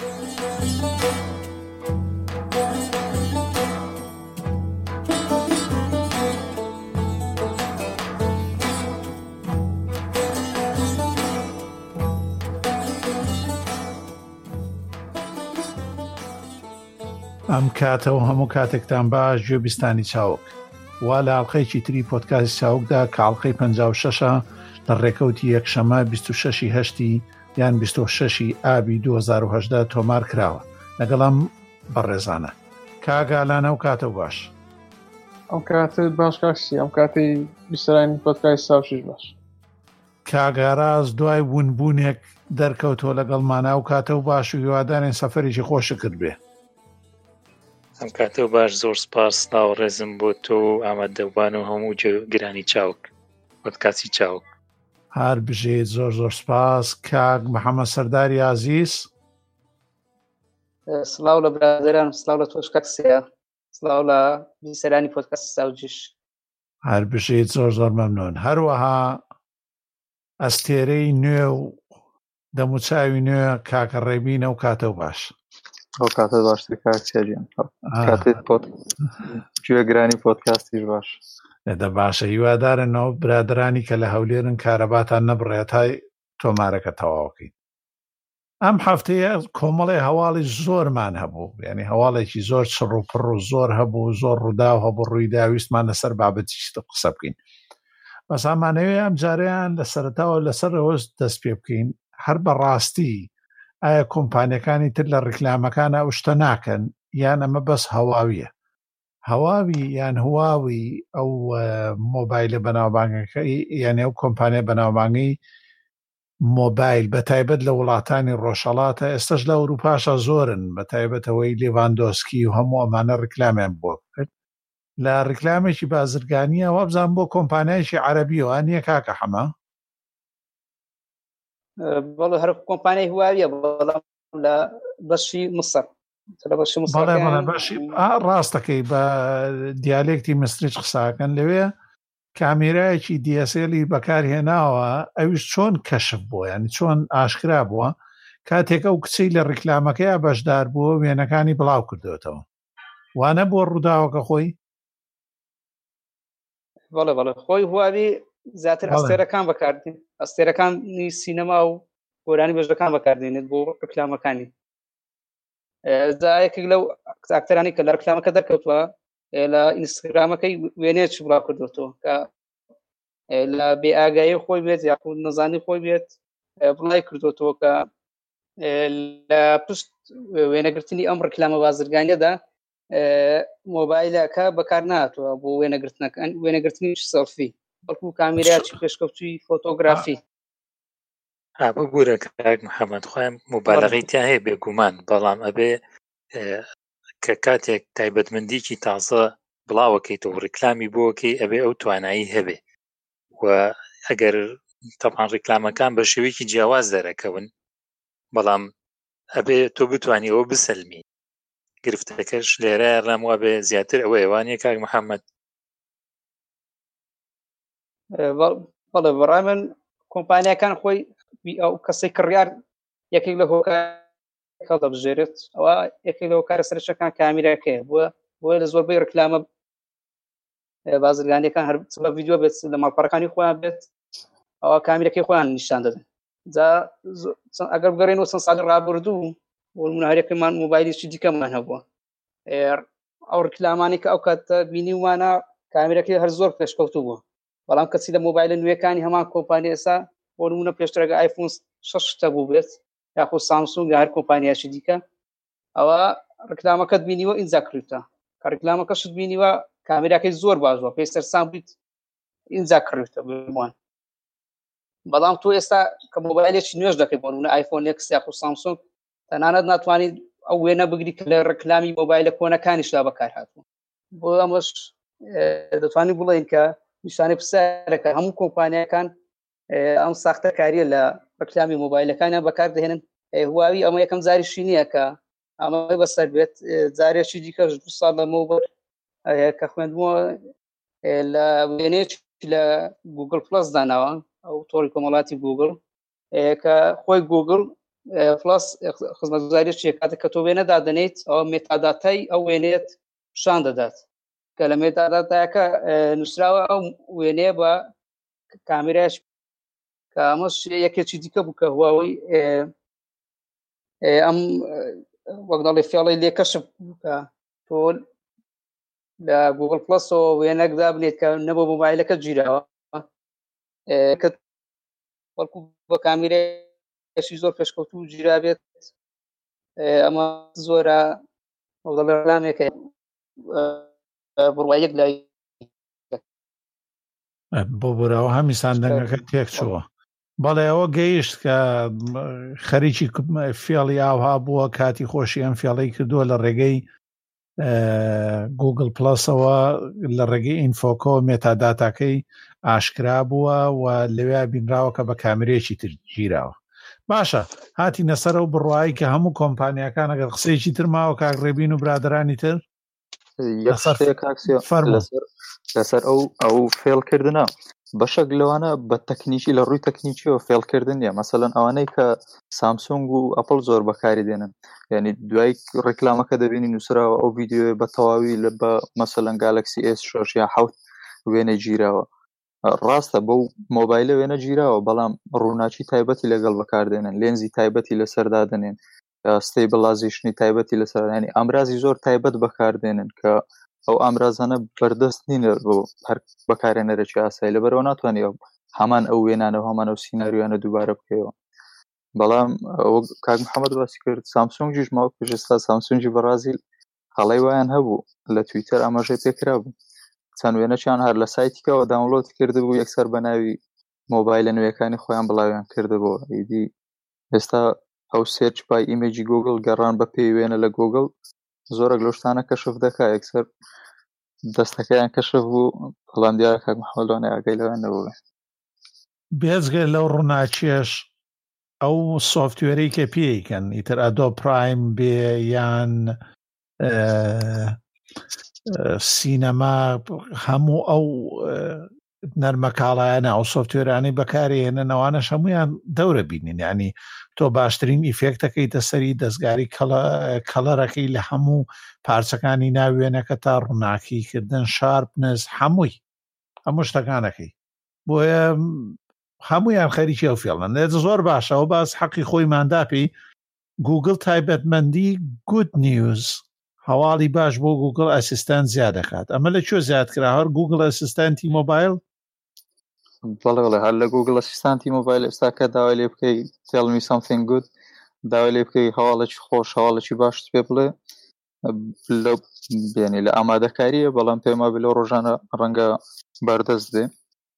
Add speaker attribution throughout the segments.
Speaker 1: ئەم کاتەوە هەموو کاتێکتان باش گوێبیستانی چاوک وا لە ئاڵلقەیەکی تری پۆدکاستی چاوکدا کە ئاڵلقەی 56 لە ڕێکەوتی یەکشەمە 26 هەشتی یان 26 ئابی 2018 تۆمار کراوە لەگەڵم بەڕێزانە کاگالانە و کاتە باش
Speaker 2: ئەم کاتت باش کاکسی ئەم کاتی بیسترانی پۆدکاستی ساوشش باش
Speaker 1: کاگاراز دوای وونبوونێک دەرکەوتۆ لەگەڵمانە و کاتە و باش و هیوادارین سەفەرێکی خۆشە کرد بێ.
Speaker 3: ئەم کاتە و باش زۆر سپاس ناو ڕێزم بۆ تۆ و ئامادەبوان و هەموو گرانی چاوک پۆدکاستی چاوک.
Speaker 1: هەر بژێت زۆر زۆر سپاس. کاک محەممەد سەرداری عەزیز
Speaker 4: سڵاو لە برادران، سڵاو لە تۆش کاکسیا، سڵاو لە بیسەرانی پۆدکاستی ساوجیش.
Speaker 1: هەر بژێت زۆر زۆر مەمنون. هەروەها ئەستێرەی نوێ و دەموچاوی نوێ کاکە ڕێبینە و کاتە و باش.
Speaker 2: ئەو کاتە باشتر کاکسیاجیان کاتێت گوێگرانی پۆدکاستیش باش.
Speaker 1: لەدە باشە هیوادارنەوە برادرانی کە لە هەولێرن کارەباتان نەبڕێت های تۆمارەکە تەواوکەین. ئەم هەفتەیە کۆمەڵی هەواڵی زۆرمان هەبوو، یعنی هەواڵێکی زۆر چڕ و پڕ و زۆر هەبوو، زۆر ڕووداو هەبوو، ڕوویداویستمان لەسەر بابەتیش قسە بکەین. بەس ئامانەوێ ئەم جارەیان لە سەرەتاوە لەسەرەوە دەست پێ بکەین هەر بەڕاستی ئایا کۆمپانیەکانی تر لە ڕیکلامەکانە ئەو شتە ناکەن یان ئەمە بەس هەواویە. هەواوی یان هواوی ئەو مۆبایلە بەناوبانگەکەی یعنی ئەو کۆمپانیە بەناوبانگی مۆبایل بەتایبەت لە وڵاتانی ڕۆژهەڵاتە ئێستش لە ئەوروپاشە زۆرن، بەتایبەتەوەی لێڤاندۆسکی و هەموو ئەمانە ڕیکلامیان بۆ کرد لە ڕیکلامێکی بازرگانیە وابزان بۆ کۆمپانیایکی عەرەبیەوە نییە کاکە حەمە؟
Speaker 4: بەڵێ هەر کۆمپانیای هواویە بەڵام لە بەشی مصر
Speaker 1: باشی ڕاستەکەی بە دیالێکتی مصریش قساکەن لەوێ کامێرایەکی دیەسێلی بەکارهێناوە ئەویش چۆن کەشف بووە، ینی چۆن ئاشکرا بووە کاتێک ئەو کچەی لە ڕیکلامەکەیە بەشدار بووە وێنەکانی بڵاو کردوێتەوە وانە بۆ ڕووداوەکە خۆی؟
Speaker 4: بەڵێ خۆی هواوی زیاتر ئەستێرەکان بەکاردێن، ئەستێرەکانی سینەما و گۆرانی بەشەکان بەکاردێنێت بۆ ڕیکلامەکانی. یەکێک لەو ئاکتەرانی کە لە ڕیکلامەکە دەرکەوتووە لە ئینستاگرامەکەی وێنەیەکی بڵاو کردوێتەوە کە لە بێئاگایی خۆی بێت یاخود نەزانی خۆی بێت بڵای کردوێتەوە کە لە پشت وێنەگرتنی ئەم ڕیکلامە بازرگانیەدا مۆبایلەکە بەکار نهاتووە بۆ وێنەگرتنی سەڵفی، بەڵکو کامێرایەکی پێشکەوتووی فۆتۆگرافی.
Speaker 3: بگورە کاک محەممەد خۆیان مبالغەی تیا هەیە بێگومان، بەڵام ئەبێ کە کاتێک تایبەتمەندیکی تازە بڵاوەکەیتەوە ڕیکلامی بۆکەی ئەبێ ئەو توانایی هەبێ و ئەگەر تەمان ڕیکلامەکان بە شێوەیەکی جیاواز دەرەکەون بەڵام ئەبێ تۆ بتوانی ئەوە بسەلمی. گرفتەکەش لێرە ڕام وا بێ زیاتر ئەوە ئێوانیە کاک محەممەد؟
Speaker 4: بەڵێ بەڕای من کۆمپانیەکان خۆی ئەو کەسەی کڕیار یەکێک لە هۆکارەکە دەبژێرێت، ئەوە یەکێک لە هۆکارە سەرچەکان کامیرەکەیە بۆیە لە زۆربەی ڕیکلامە بازرگانیەکان هەر بە ڤیدیۆ بێت لە ماڵپەڕەکانی خۆیان بێت ئەوە کامیرەکەی خۆیان نیشان دەدەن. ئەگەر بگەڕێنەوە چەند ساڵی ڕابردوو نمونە هەرێکمان مۆبایلێکی دیکەمان هەبووە، ئەو ڕیکلامانی کە ئەو کاتە بینیومانە کامیرەکەی هەر زۆر پێشکەوتوو بووە، بەڵام کەسی لە مۆبایلە نوێەکانی هەمان کۆمپانیا ئێستا بۆ نمونە پێشترەکە ئایفۆن 6 بوو بێت یاخود سامسونگ یا هەر کۆمپانیایکی دیکە، ئەوە ڕیکلامەکەت بینیوە ئینجا کڕیتە، کە ڕیکلامەکەشت بینیوە کامیراکەی زۆر باشوە پێی سەرسام بیت ئینجا کڕیتە بمان. بەڵام تۆ ئێستا کە مۆبایلێکی نوێژ دەکەی بۆ نمونە ئایفۆن ئێکس یاخود سامسونگ تەنانەت ناتوانیت ئەو وێنە بگری کە لە ڕیکلامی مۆبایلە کۆنەکانیشدا بەکار هاتووە. بۆ ئەمەش دەتوانین بڵێن کە نیشانەی پرسیارەکە هەموو کۆمپانیەکان ئەم ساختەکاریە لە ڕیکلامی مۆبایلەکانیان بەکاردەهێنن. هواوی ئەمە یەکەم جاریشی نییە کە ئەمە بەسەر بێت، جارێکی دیکەش 2 ساڵ لەمەوبەر کە خوێندبووە لە وێنەیەکی لە گوگل پلس داناوە ئەو تۆڕی کۆمەڵاتی گوگل کە خۆی گوگل پلاس خزمەتگوزاریی کاتێک کە تۆ وێنە دادەنیت ئەو مێتاداتای ئەو وێنێت پیشان دەدات کە لە مێتاداتایەکە نووسراوە ئەو وێنەیە بە کامێرایش کە ئەمەش یەکێکی دیکە بوو کە هواوی ئەم وەک دەڵێ فێڵی لێ کەشف بوو کە تۆ لە گوگل پلەسەوە وێنەکدا بنێت کە نەبوو مۆبایلەکە گیراوە کە وەکو بە کامێرایشی زۆر پێشکەوتوو گیرا بێت ئەمە زۆرە وەک دەڵێ ڕامێکە بڕوایەک لای
Speaker 1: بۆ بوراوە هەمی ساندنگەکە تێک چووە بەڵێ ئەوە گەیشت کە خەریکی فێڵی ئاوها بووە کاتی خۆشی ئەم فێڵەی کردووە لە ڕێگەی گوگل پلەسەوە لە ڕێگەی ئینفۆکۆ مێتاداتاکەی ئاشکرا بووە و لەوێ بینراوە کە بە کامرێکی تر گیراوە باشە هاتی نەسەر و بڕوایی کە هەموو کۆمپانیەکان ئەگەر قسەیەکی ترماوە کاگڕێبین و برادرانی تر
Speaker 5: لەسەر ئەو فێڵکردنە بەشێک لەوانە بە تەکنیکی لە ڕووی تەکنیکیەوە فێڵکردن نیە مەسەلەن ئەوانەی کە سامسونگ و ئەپڵ زۆر بەکاری دێنن یعنی دوای ڕێکلامەکە دەبینی نووسراوە ئەو ڤیدیۆ بە تەواوی لە بە مەسەلەن گالکسی S6 یا 7 وێنە گیراوە ڕاستە بەو مۆبایلە وێنە گیراوە بەڵام ڕووناچی تایبەتی لەگەڵ بەکاردێنن لێنزی تایبەتی لەسەردادنێن ستیبلایزیشنی تایبەتی لەسەر ینی ئامرازی زۆر تایبەت بەکاردێنن کە ئەو ئامرازانە بەردەست نینە بۆ هەر بەکارێنەرێکی ئاسایی لەبەرەوە ناتوانێت هەمان ئەو وێنانە هەمان ئەو سیناریوانە دووبارە بکەیەوە بەڵام کاک محەممەد باسی کرد سامسونگیش ماوە پێشستا سامسونگی بەرازیل هەڵی وایان هەبوو لە تویتەر ئاماژەی پێکرا بوو چەند وێنەچیان هەر لە سایتیکەوە داونلۆد کردبوو یەکسەر بە ناوی مۆبایلە نوێیەکانی خۆیان بڵاویان کردبوو ئیدی ئێستا ئەو سێرچ پای ئیمێجی گوگل گەڕان بە پێی وێنە لە گوگل زۆرە لەشتانە کەشف دەکا یەکسەر دەستەکەیان کەشف بوو بەڵام دیارە کاک محەممەدوانێ ئاگای لەوان نەبوو
Speaker 1: بێزگە لەو ڕووناچێش ئەو سۆفتوێرەی کە پێیکەن ئیتر ئەدۆ پرایم بێ یان سینەما هەموو ئەو نەرمەکاڵایانە ئەو سۆفتوێرانەی بەکارهێنن ئەوانەش هەمویان دەورە بینین ینی تۆ باشترین ئیفێکتەکەی دەسەری دەستگاری کەڵەرەکەی لە هەموو پارچەکانی ناوێنەکە تا ڕووناکیکردن شارپنس هەموو شتەکانەکەی بۆیە هەمویان خەریکی ئەو فێڵن زۆر باشە ئەو باس حەقی خۆی ماداپی گوگل تایبەتمەندی گود نیوز هەواڵی باش بۆ گوگل ئەسیستانت زیاد دەکات ئەمە لە کوێ زیاد کرا هەر گوگل ئەسیستانتی مۆبایل
Speaker 5: بەڵێ هەر لە گوگل ئەسیستانتی مۆبایل ئێستا کە داوای لێ بکەی tell me something good داوای لێ بکەی هەواڵێکی خۆش هەواڵێکی باش پێ بڵێ بێنی لە ئامادەکاریە بەڵام پێما بێ لەو ڕۆژانە ڕەنگە بەردەست دێ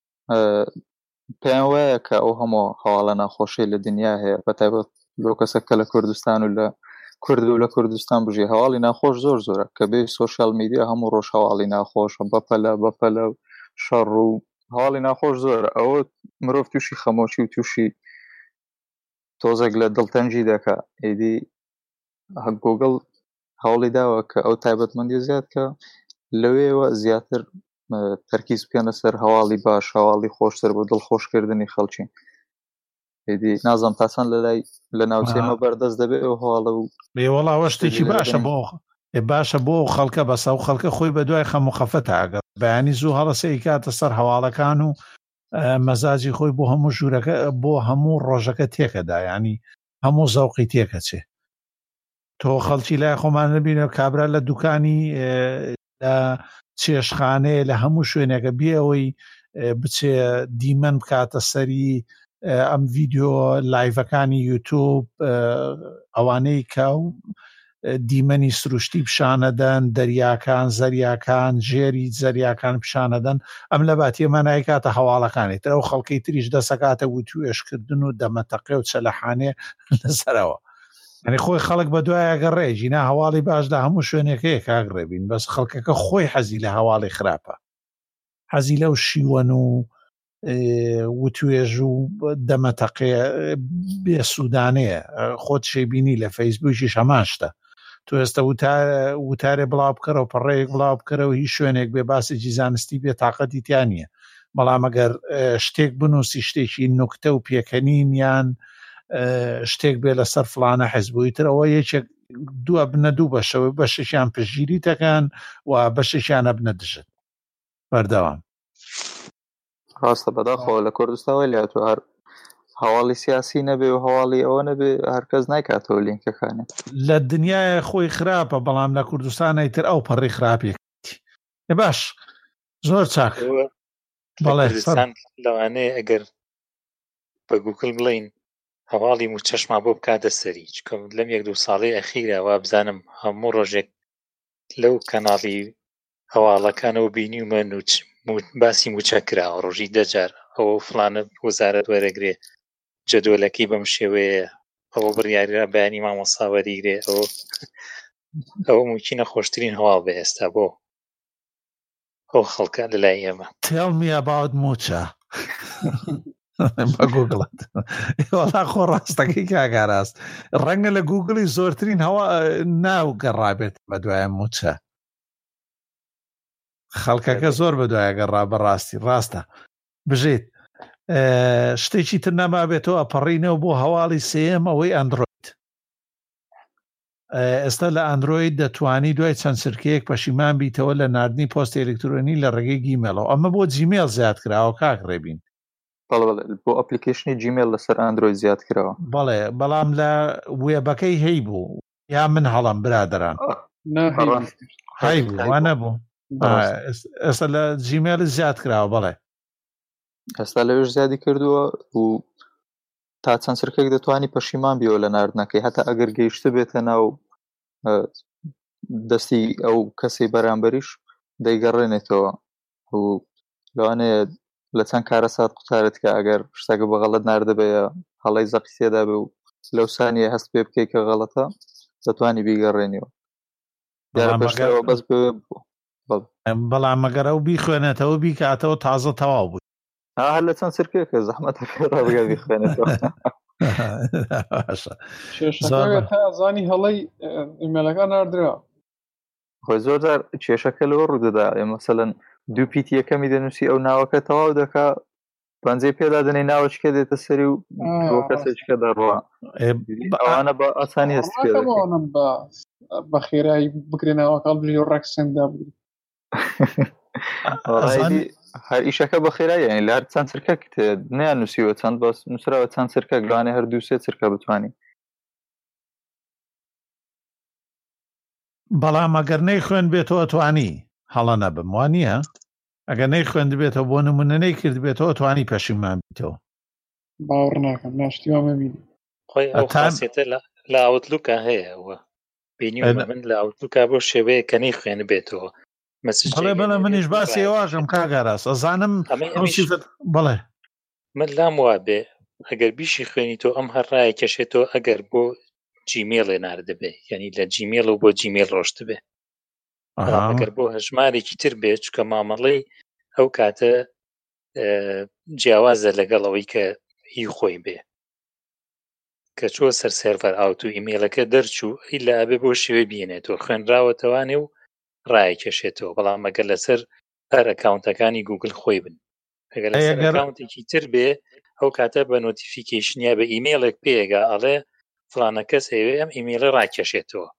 Speaker 5: پێیان وایە کە ئەو هەموو هەواڵە ناخۆشی لە دنیا هەیە بەتایبەت لەو کەسەکە لە کوردستان و لە کورد و لە کوردستان بژێ هەواڵی ناخۆش زۆر زۆرە کە بێ سۆشیال میدیا هەموو ڕۆژ هەواڵی ناخۆش بەپەلە شەڕ و هەواڵی ناخۆش زۆرە ئەوە مرۆڤ تووشی خەمۆشی و تووشی تۆزێک لە دڵتەنجی دەکا ئیدی گوگل هەوڵی داوە کە ئەو تایبەتمەندی زیاد کە لەوێەوە زیاتر تەرکیز بکەنە سەر هەواڵی باش هەواڵی خۆشتر بۆ دڵخۆشکردنی خەڵکی ئیدی نازەم تاسان لە ناوچێمە بەردەست دەبێت ئەو هەواڵە و
Speaker 1: وەڵاوە شتێکی باشە بۆ خەڵکە بەسا و خەڵکە خۆی بە دوای خەم و خەفەتە ئەگەر بەیانی زوو هەڵەسەی کاتە سەر هەواڵەکان و مەزاجی خۆی بۆ هەموو ژوورەکە بۆ هەموو ڕۆژەکە تێکەدا ینی هەموو زەوقی تێکەچێ تۆ خەڵکی لای خۆمان نبینە کابرا لە دوکانی لە چێشخانەیە لە هەموو شوێنێکە بێەوەی بچێ دیمەن بکاتە سەری ئەم ڤیدیۆ لایڤەکانی یوتیوب ئەوانەی کە دیمەنی سروشتی پیشانەدەن دەریاکان زەریاکان ژێری زەریاکان پیشانەدەن ئەم لە باتیێمە نایکاتە هەواڵەکانی تر ئەو خەڵکەی تریش دەسەکاتە وتوێشکردن و دەمەتەقێ و چەلەحانێ لەسەرەوە ئەنی خۆی خەڵک بە دوایە گەڕێژی نا هەواڵی باشدا هەموو شوێنێکەیە کاگڕێبین بەس خەڵکەکە خۆی حەزی لە هەواڵی خراپە حەزی لەو شیوەن و وتوێژ و دەمەتەقێ بێسوودانەیە خۆت شەیبینی لە فەیسبووکیش هەمان شتە تۆ ئێستا وتارێ بڵاو بکەرەوە پەڕەیەک بڵاو بکەرەوە هیچ شوێنێک بێ باسێکی زانستی بێ تااقەتی تیان نییە بەڵام ئەگەر شتێک بنووسی شتێکی نوکتە و پێکەنین یان شتێک بێ لەسەر فلانە حیزبووی ترەوە یەکێک دووە بنە دوو بەشەوەی بەشیان پشگیری دەکەن و بەشیشیانە بنە دژت بەردەوام.
Speaker 5: ڕاستە بەداخەوە لە کوردستانەوە لاتوە هەر هەواڵی سیاسی نەبێ و هەواڵی ئەوە نەبێ هەرکەس نایکاتەوە لینکەکانی
Speaker 1: لە دنیای خۆی خراپە بەڵام لە کوردستانی تر ئەو پەڕی خراپێکی باش زۆر چاک
Speaker 3: بەڵێ لەوانەیە ئەگەر بە گوگل بڵین هەواڵی و چەشما بۆ بکاتە سەری چکەم لەم 1-2 ساڵی ئەخیرەوە بزانم هەموو ڕۆژێک لەو کەناڵی هەواڵەکانەوە بینیومە باسی موچە کراوە ڕۆژی دەجار ئەوە فلانە وەزارەت وەرەگرێ جەدۆلەکەی بەم شێوەیە ئەوە بڕیاریرا بەیانی مامۆستا وەریگرێ ئەوە ممکنە خۆشترین هەواڵ بێ ئێستا بۆ ئەو خەڵکە لەلای ئێمە.
Speaker 1: Tell me about موچە بە گوگڵت وەڵا خۆ ڕاستەکەی کاگاراست ڕەنگە لە گوگڵی زۆرترین هەوا ناو گەڕابێت بە دوایە موچە خەڵکەکە زۆر بە دوایە گەڕا بەڕاستی ڕاستە بژێت شتێکی تر نەمابێتەوە ئەپەڕینەوە بۆ هەواڵی سێم ئەوەی ئەندروید. ئێستا لە ئەندروید دەتوانی دوای چەند سرکەیەک پەشیمان بیتەوە لە ناردنی پۆستی ئەلکترۆنی لە ڕێگەی گیمێلەوە ئەمە بۆ جیمێل زیاد کراوە کاک ڕێبین
Speaker 5: بۆ ئەپلیکیشنی جیمێل لەسەر ئەندروید زیاد کراوە
Speaker 1: بەڵێ بەڵام لە وێبەکەی هەی بوو یا من هەڵم برادران هەی بوو وانە بوو ئێستا لە جیمێل زیاد کراوە بەڵێ
Speaker 5: ئێستا لەوێش زیادی کردووە و تا چەند سرکێک دەتوانی پەشیمان بیەوە لە ناردنەکەی هەتا ئەگەر گەیشتە بێتە ناو دەستی ئەو کەسی بەرامبەریش دەیگەڕێنێتەوە و لەوانەیە لە چەند کارە سات قوتارت کە ئەگەر شتێکە بە غەڵەت ناردەبێە هەڵەی زەقی سێدا بێ و لەو سانیە هەست پێ بکەی کە غەڵەتە دەتوانی بیگەڕێنیەوە دیارە پێشترەوە بەس
Speaker 1: بەڵام ئەگەر ئەو بیخوێنێتەوە بیکاتەوە تازە تەواو بوو
Speaker 5: هەر لە چەند سرکێکە زەحمەتە ڕابگە بیخوێنێتەوە
Speaker 2: زانی هەڵەی ئیمێلەکە ناردرا
Speaker 5: خۆی زۆرجار کێشەکە لەوە ڕوودەدا مەسەلەن دوو پیتی یەکەمی دەنووسی ئەو ناوەکە تەواو دەکا پەنجەی پێدا دەنێ ناوەچکە دێتە سەری و بۆ کەسێکە دەڕوا ئەوانە بە ئاسانی هەست پێ
Speaker 2: بە خێرایی بکرێنەوە کاڵ بژی و ڕەکسندا بگری
Speaker 5: هەر ئیشەکە بە خێرایی یعنی لە هەر چەند سرکەک نیان نووسیوە چەند باس نووسراوە چەند سرکەک لەوانێ هەر دوو سێ سرکە بتوانین
Speaker 1: بەڵام ئەگەر نەیخوێن بێتەوە توانی هەڵە نەبم وانە ئەگەر نەیخوێن بێتەوە بۆ نمونە نەیکرد بێتەوە توانی پەشیمان بیتەوە
Speaker 2: باوەڕ ناکەم ناشتیوامە بینی
Speaker 3: خۆی ئەو خاصیەتە لە ئاوتلوکە هەیە ئەوە بینیومە من لە ئاوتلوکە بۆ شێوەیە کە نەیخوێن بێتەوە
Speaker 1: بەڵێ منیش باسی ئێواژم کاگاراس ئەزانم بڵێ
Speaker 3: من لام وابێ ئەگەر بیشی خوێنی تۆ ئەم هەرڕایە کەشێتەوە ئەگەر بۆ جیمێڵێ ناردەبێ یعنی لە جیمێڵ و بۆ جیمێل ڕۆشت بێ ئەگەر بۆ هەژمارێکی تر بێت چکە مامەڵەی ئەو کاتە جیاوازە لەگەڵەوەی کە هی خۆی بێ کە چوە سەر سێرڤەر ئاوت و ئیمێلەکە دەرچوو ئیلا ئەبێ بۆ شێوە بینێتەوە خوێنراوەتەوانێ و ڕای کێشێتەوە بەڵام ئەگەر لەسەر هەر ئەکاونتەکانی گوگل خۆی بن ئەگەر لەسەر ئەکاونتێکی تر بێ ئەو کاتە بە نۆتیفیکیشنیا بە ئیمێلێک پێگا ئەڵێ فلانە کەس هەیە ئەم ئیمێلە ڕاکێشێتەوە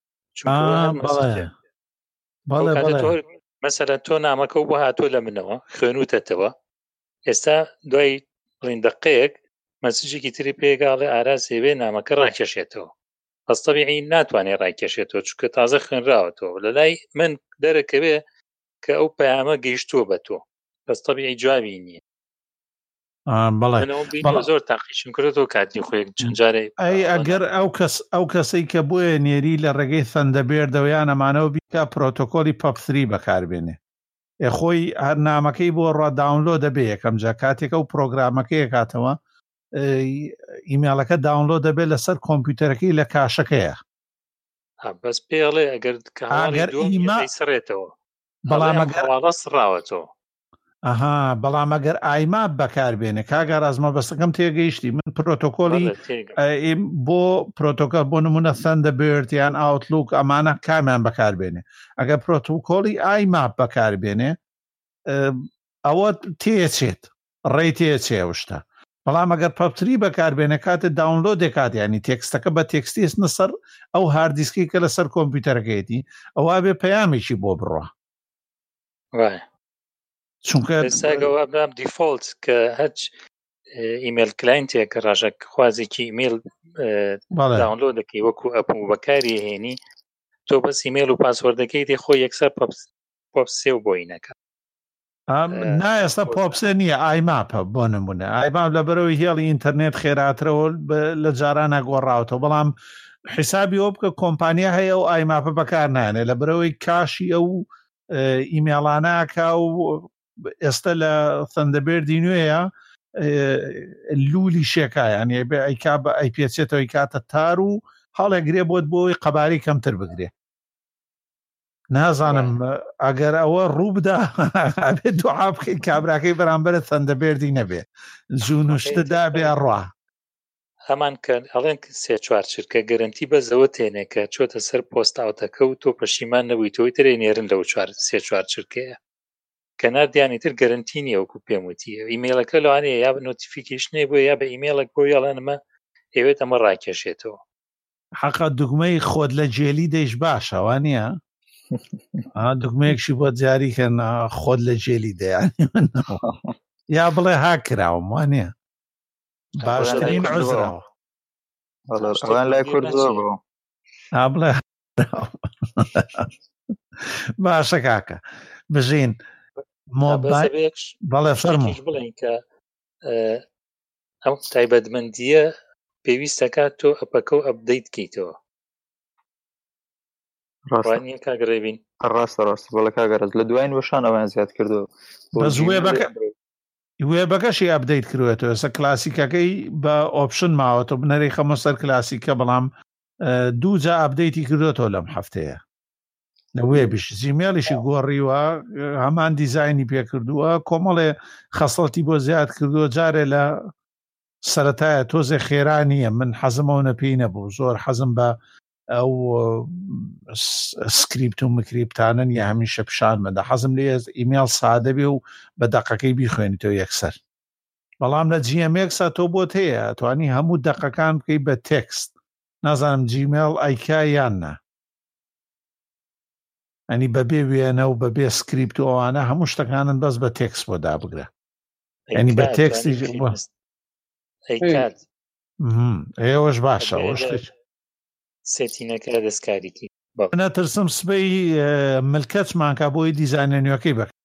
Speaker 3: مەسەلەن تۆ نامەکە و بۆ هاتۆ لە منەوە خوێنوتەتەوە ئێستا دوای بڵین دقەیەک مەسیجێکی تری پێگاڵێ ئاراز هێوێ نامەکە ڕاکێشێتەوە بەس تەبیعی ناتوانێت ڕاکێشێتەوە چونکە تازە خوێنراوەتەوە لە لای من دەرەکەوێ کە ئەو پەیامە گەیشتووە بە تۆ بەس تەبیعی جوابی نییە زۆر تاقیشم کردەوە کاتی خۆی چەندجارێ
Speaker 1: ئەگەر ئەو کەسەی کە بۆیە نێری لە ڕێگەی سەندەبێردەوەیان ئەمانەوە بیکە پرۆتۆکۆلی پەپ3 بەکاربێنێ خۆی هەر نامەکەی بۆ ڕوا داونلۆ دەبێ یەکەم جا کاتێکە و پرۆگرامەکەی کاتەوە ئیمێلەکە داونلۆ دەبێت لەسەر کۆمپیوتەرەکەی لە کاشەکەیە
Speaker 3: بەس پێڵێ ئەگەر سڕێتەوە بەڵام سڕاوەتەوە
Speaker 1: بەڵام ئەگەر ئایماب بەکاربێنێ کاگەر ئازمە بەستەکەم تێگەیشتی من پرۆتۆکۆلی بۆ پرۆتۆکۆل بۆ نمونە سەندەبێرد یان ئاوتلوک ئەمانە کامیان بەکاربێنێ ئەگەر پرۆتۆکۆلی ئایماب بەکاربێنێ ئەوە تێچێت ڕێی تێچێ شتە بەڵام ئەگەر پەپتری بەکاربێنە کاتە داونلۆد دەکات ینی تێکستەکە بە تێکستی نەسەر ئەو هاردیسکی کە لەسەر کۆمپیوتەرەکەیەتی ئەوە بێ پەیامێکی بۆ بڕۆ چونکە
Speaker 3: ئێستاگەوە برام دیفۆلت کە هەچ ئیمێل کلاینتێک ڕژێک خوازێکی ئیمێل داونلۆد دەکەی وەکو ئەپ و بەکاری هێنی تۆ بەس ئیمێل و پاسوەردەکەی دێ خۆی یەکسەر پۆپسێ و بۆی نەکە
Speaker 1: ئێستا پۆپسێ نییە ئایماپە بۆ نمونە ئایماپ لە بەرەوەی هێڵی ئینتەرنێت خێراترەوە لە جارانە گۆڕاوەوە بەڵام حیسابی ئەو بکە کۆمپانیا هەیە و ئایماپە بەکار نانێ لە بەرەوەی کاشی ئەو ئیمێڵاناکە و ئێستا لە تەندەبێردی نوێیە لولی شێکایان ئەی پێچێتەوەی کاتە تار و هەڵێگرێ بۆت بۆی قەباری کەمتر بگرێ نازانم ئەگەر ئەوە ڕوو بدا ئەبێت دوعا بکەی کابراکەی بەرامبەرە تەندەبێردی نەبێ جوون و شتدا بێ ڕوا
Speaker 3: هەمان کە ئەڵێن سێ چوار چرکە گەرنتی بەزەوە تێنێ کە چۆتە سەر پۆست ئاوتەکە و تۆ پەشیمان نەبووی تۆی ترێ نێرن لەو سێ چوار چرکەیە کەنار دیانی تر گەرنتی نییە وەکو پێم وتیە ئیمێلەکە لەوانەیە یا بە نۆتیفیکیشنێ بۆ یا بە ئیمێلێک بۆ یاڵانمە ئەوێت ئەمە ڕاکێشێتەوە
Speaker 1: حەقا دوگمەی خۆت لە جێلی دەیش باشە وانە دوگمەیەکشی بۆ جاریکەن خۆت لە جێلی دەیانی یا بڵێ هاکراوم وانە باشترین عزراوە
Speaker 5: لای کورد زۆر
Speaker 1: بڵێ باشە کاکە بژین بەڵێ فەرموو
Speaker 3: بڵێن کە ئەو تایبەتمەندیە پێویستەکات تۆ ئەپەکە و ئەپدەیت کەیتەوە ڕاستە کاگڕێبین
Speaker 5: ڕاستە بەڵێ کاگەرز لە دوایین وەشان ئەویان زیاد کردو
Speaker 1: بەس وێبەکەشی ئەپدەیت کردوێتەوە ئێستا کلاسیکەکەی بە ئۆپشن ماوەتەوە بنەرەی خەمە سەر کلاسیکە بەڵام دوو جا ئەپدەیتی کردوێتەوە لەم هەفتەیە لە وێبیش زیمێڵیشی گۆڕیوە هەمان دیزایانی پێکردووە کۆمەڵێ خەسڵەتی بۆ زیاد کردووە جارێ لە سەرەتایە تۆزێ خێرانیە من حەزمەوە پێی نەبوو زۆر حەزم بە ئەو سکریپت و مکریپتانن یا هەمیشە پیشان بەدا حەزم لێ ئیمێل سادە بێ و بە دەقەکەی بیخوێنیتەوە یەکسەر بەڵام لە GMX تۆ بۆت هەیە توانی هەموو دەقەکان بکەی بە تێکست نازانم جیمێل ئایکا یاننا ئەنی بەبێ وێنە و بەبێ سکریپت و ئەوانە هەموو شتەکانن بەس بە تێکس بۆ دابگرە ئەنی بە تێکستی ئێوەش باشە
Speaker 3: سێتینەکە دەستکاریکی
Speaker 1: نەترسم سبەی ملکەتمانکە بۆی دیزاینە نوێەکەی بکە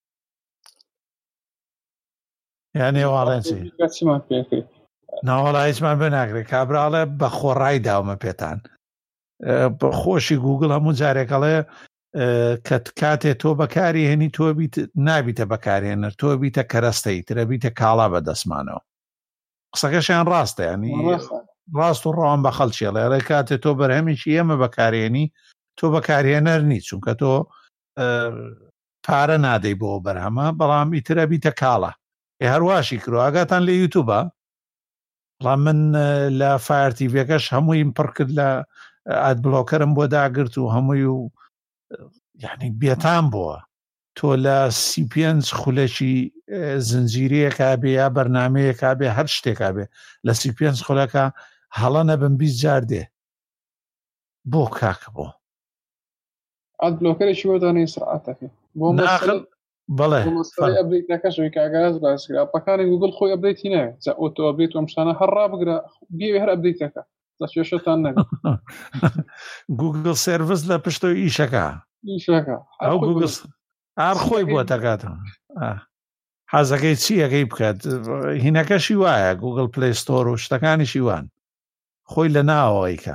Speaker 1: یانێ واڵێنچی ناوەڵا هیچمان بێ ناگرێت کابراڵێ بە خۆڕای داومە پێتان خۆشی گوگل هەموو جارێکەڵێ کە کاتێ تۆ بەکاری هێنی تۆ نابیتە بەکارهێنەر تۆ بیتە کەرەستەی ترە بیتە کاڵا بە دەستمانەوە قسەکەشیان ڕاستە ینی ڕاست و ڕەوان بە خەڵکیێڵێ ڕێ کاتێ تۆ بەرهەمیشی ئێمە بەکارهێنی تۆ بەکارهێنەر نیت چونکە تۆ پارە نادەی بۆ بەرهەمە بەڵام ئیترە بیتە کاڵە هەرواشی کرۆ ئاگاتان لە یوتوبە بەڵام من لە فایرتیڤەکەش هەموویم پڕ کرد لە ئادبلۆکەرم بۆ داگرت و هەمووی و یعنی بێتان بووە تۆ لە سیپێنج خولەکی زنجیرەیەکا بێ یا بەرنامەیەکا بێ هەر شتێکا بێ لە سیپێنج خولەکە هەڵە نەبن 20 جار دێ بۆ کاکە بۆ
Speaker 2: ئادبلۆکەرێکی وەدانەی سرعاتەکە بۆ
Speaker 1: بەڵێ
Speaker 2: ئەبدەیتەکەشەوەی کاگەز باسکرا پەکانی گوگل خۆی ئەبدەیتی ناوێت جا ئۆتۆ ئەبدەیت و ئەمشتانە هەر ڕابگرە بێوێ هەر ئەبدەیتەکە دەچێشتان نەبێت
Speaker 1: گوگل سێڤیس لە پشتەوە ئیشەکە ئەو گوگل ئار خۆی بۆ دەکاتەوە حەزەکەی چیەکەی بکات هینەکەشی وایە گوگل پلی ستۆر و شتەکانیشی وان خۆی لە ناوەوەیکە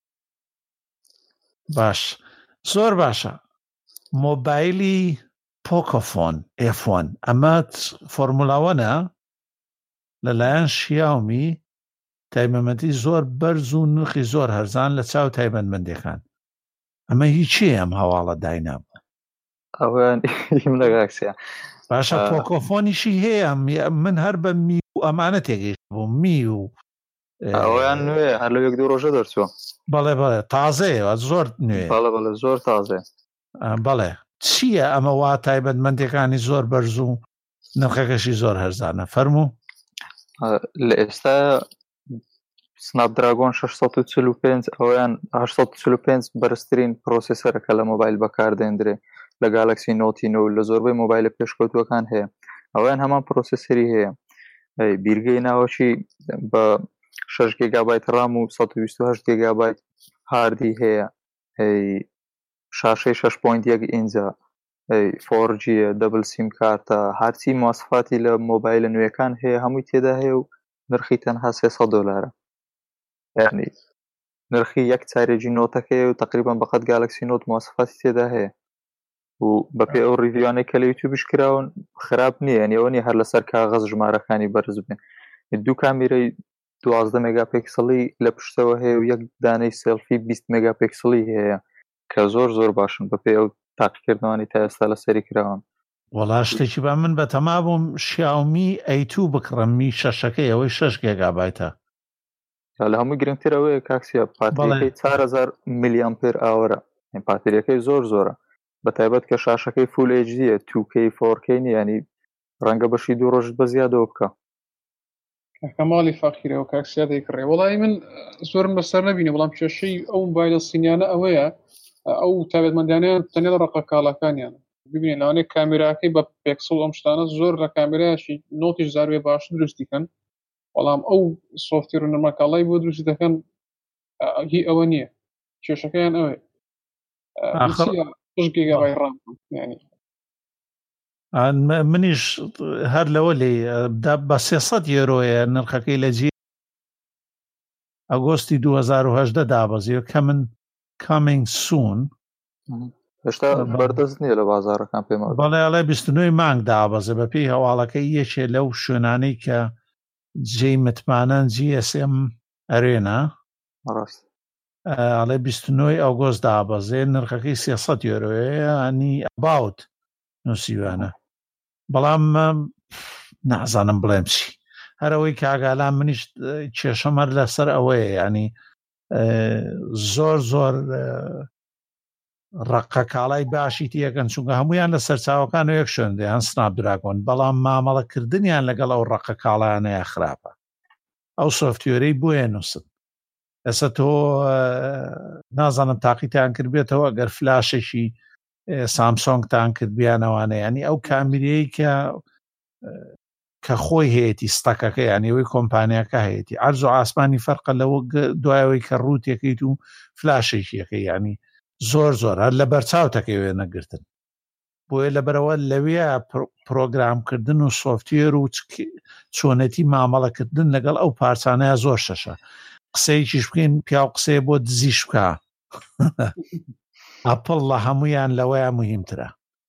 Speaker 1: باش زۆر باشە مۆبایلی پۆکۆفۆن ئێفۆن ئەمە فۆرمولاوەنە لەلایەن شیاومی تایبەتمەندی زۆر بەرز و نرخی زۆر هەرزان لە چاو تایبەتمەندیەکان ئەمە هیچی ئەم هەواڵە داینابوو
Speaker 5: ئەویان لەگاکسە
Speaker 1: باشە پۆکۆفۆنیشی هەیە من هەر بە می و ئەمانە تێگەیشت بوو می و
Speaker 5: ئەویان نوێ هەر لە یەک دوو ڕۆژە دەرچووە
Speaker 1: بەڵێ تازەیە زۆر نوێ
Speaker 5: بەڵێ زۆر تازێ
Speaker 1: بەڵێ چییە ئەمە وا تایبەتمەندەکانی زۆر بەرز و نرخەکەشی زۆر هەرزانە فەرموو
Speaker 5: لە ئێستا سنابدراگۆن 645 ئەویان 845 بەرزترین پرۆسیسەرەکە لە مۆبایل بەکاردێنرێ لە گالاکسی نۆتینەوە لە زۆربەی مۆبایلە پێشکەوتوەکان هەیە ئەویان هەمان پرۆسیسەری هەیە بیرگەی ناوەشی بە 6 گیگابایت رام و 128 گیگابایت هاردی هەیە شاشەی 6.1 ئینجا 4G دەبل سیم کارتە هەرچی مواصفاتی لە مۆبایلە نوێەکان هەیە هەمووی تێدا هەیە و نرخی تەنها $300 یعنی نرخی یەک چارێکی نۆتەکەی و تقریبا بەقەت گالاکسی نۆت مواصفاتی تێدا هەیە و بەپێ ئەو ریڤیوانەی کە لە یوتیوبش کراون خراپ نییە یعنی ئەوە نیە هەر لەسەر کاغەز ژمارەکانی بەرز بێن دوو کامیرەی 12 مێگاپیکسڵی لە پشتەوە هەیە و یەک دانەی سێلفی 20 مێگاپیکسڵی هەیە کە زۆر باشن بەپێ ئەو تاقیکردنەوەی تا ئێستا لەسەری کراون
Speaker 1: وەڵا شتێکی با من بە تەما بووم شیاومی A2 بکڕمی شەشەکەی ئەوەی 6 گیگابایتە
Speaker 5: لە هەمووی گرنگترەوەی کاکسیە پاتریەکەی 4000 میلیامپێر ئاوەرە پاتریەکەی زۆرە بە تایبەت کە شاشەکەی فول HD 2K 4K ینی ڕەنگە بەشی دوو ڕۆژت بە زیادەوە بکە
Speaker 2: کەماڵی فاخیرەوە کاکسیا دەیکڕێ وڵی من زۆرم بەسەر نبینە بەڵام کێشەی ئەو مۆبایلە سینیانە ئەوەیە ئەو تایبەتمەندیانیان تەنیا لە ڕقە کاڵەکانیان ببینێن لەوانەیە کامێراکەی بە پێکسڵ ئەم شتانە زۆر لە کامێرایشی نۆتیش زاروێ باش دروستیکەن بەڵام ئەو سۆفتێر و نەرمەکاڵای بۆ دروستی دەکەن هی ئەوە نییە کێشەکەیان ئەوەیە گیگابایت رام ینی
Speaker 1: منیش هەر لەوە لێ بە 300 یۆرۆیە نرخەکەی لە جی ئەگۆستی 2018 دابەزیوە کە من coming soon
Speaker 5: هێشتا بەردەست نییە لە بازارەکان پێم
Speaker 1: بەڵێ 29 مانگ دابەزە بە پێی هەواڵەکەی یەکێ لەو شوێنانەی کە جێی متمانەن GSM ئەرێنا ئەڵێ 29 ئەوگۆست دابەزێ نرخەکەی 300 یۆرۆیە ئەنی ئەباوت نووسیوانە بەڵام نازانم بڵێم چی هەرەوەی کاگالان منیش کێشەمەر لەسەر ئەوەیە ینی زۆر ڕقە کاڵای باشی تیەکەن چونکە هەمویان لە سەرچاوەکان و یەک شوێن دەیان سنابدراگۆن بەڵام مامەڵەکردنیان لەگەڵ ئەو ڕقە کاڵایانەیە خراپە ئەو سۆفتوێرەی بۆیە نووسن ئەسە تۆ نازانم تاقیتیان کردبێتەوە گەر فلاشێکی سامسۆنگتان کرد بیانەوانە ینی ئەو کامیرەیە کە خۆی هەیەی ستەکەکە یانیەوەی کۆمپانیاکە هەیەی ئەرز و ئاسمانی فەرقە لەوە دوایەوەی کە ڕوتێکیت و فلاشێکیەکەی ینی زۆر هەر لە بەرچاوتەکەی وێ نەگرتن بۆیە لەبەرەوە لەوێ پرۆگرامکردن و سۆفتوێر و چۆنەتی مامەڵەکردن لەگەڵ ئەو پارچانەیە زۆر شەشە قسەیەکیش بکەین پیا و قسەیە بۆ دزیش بکە ئەپڵ لە هەمویان لەوەیە مهمترە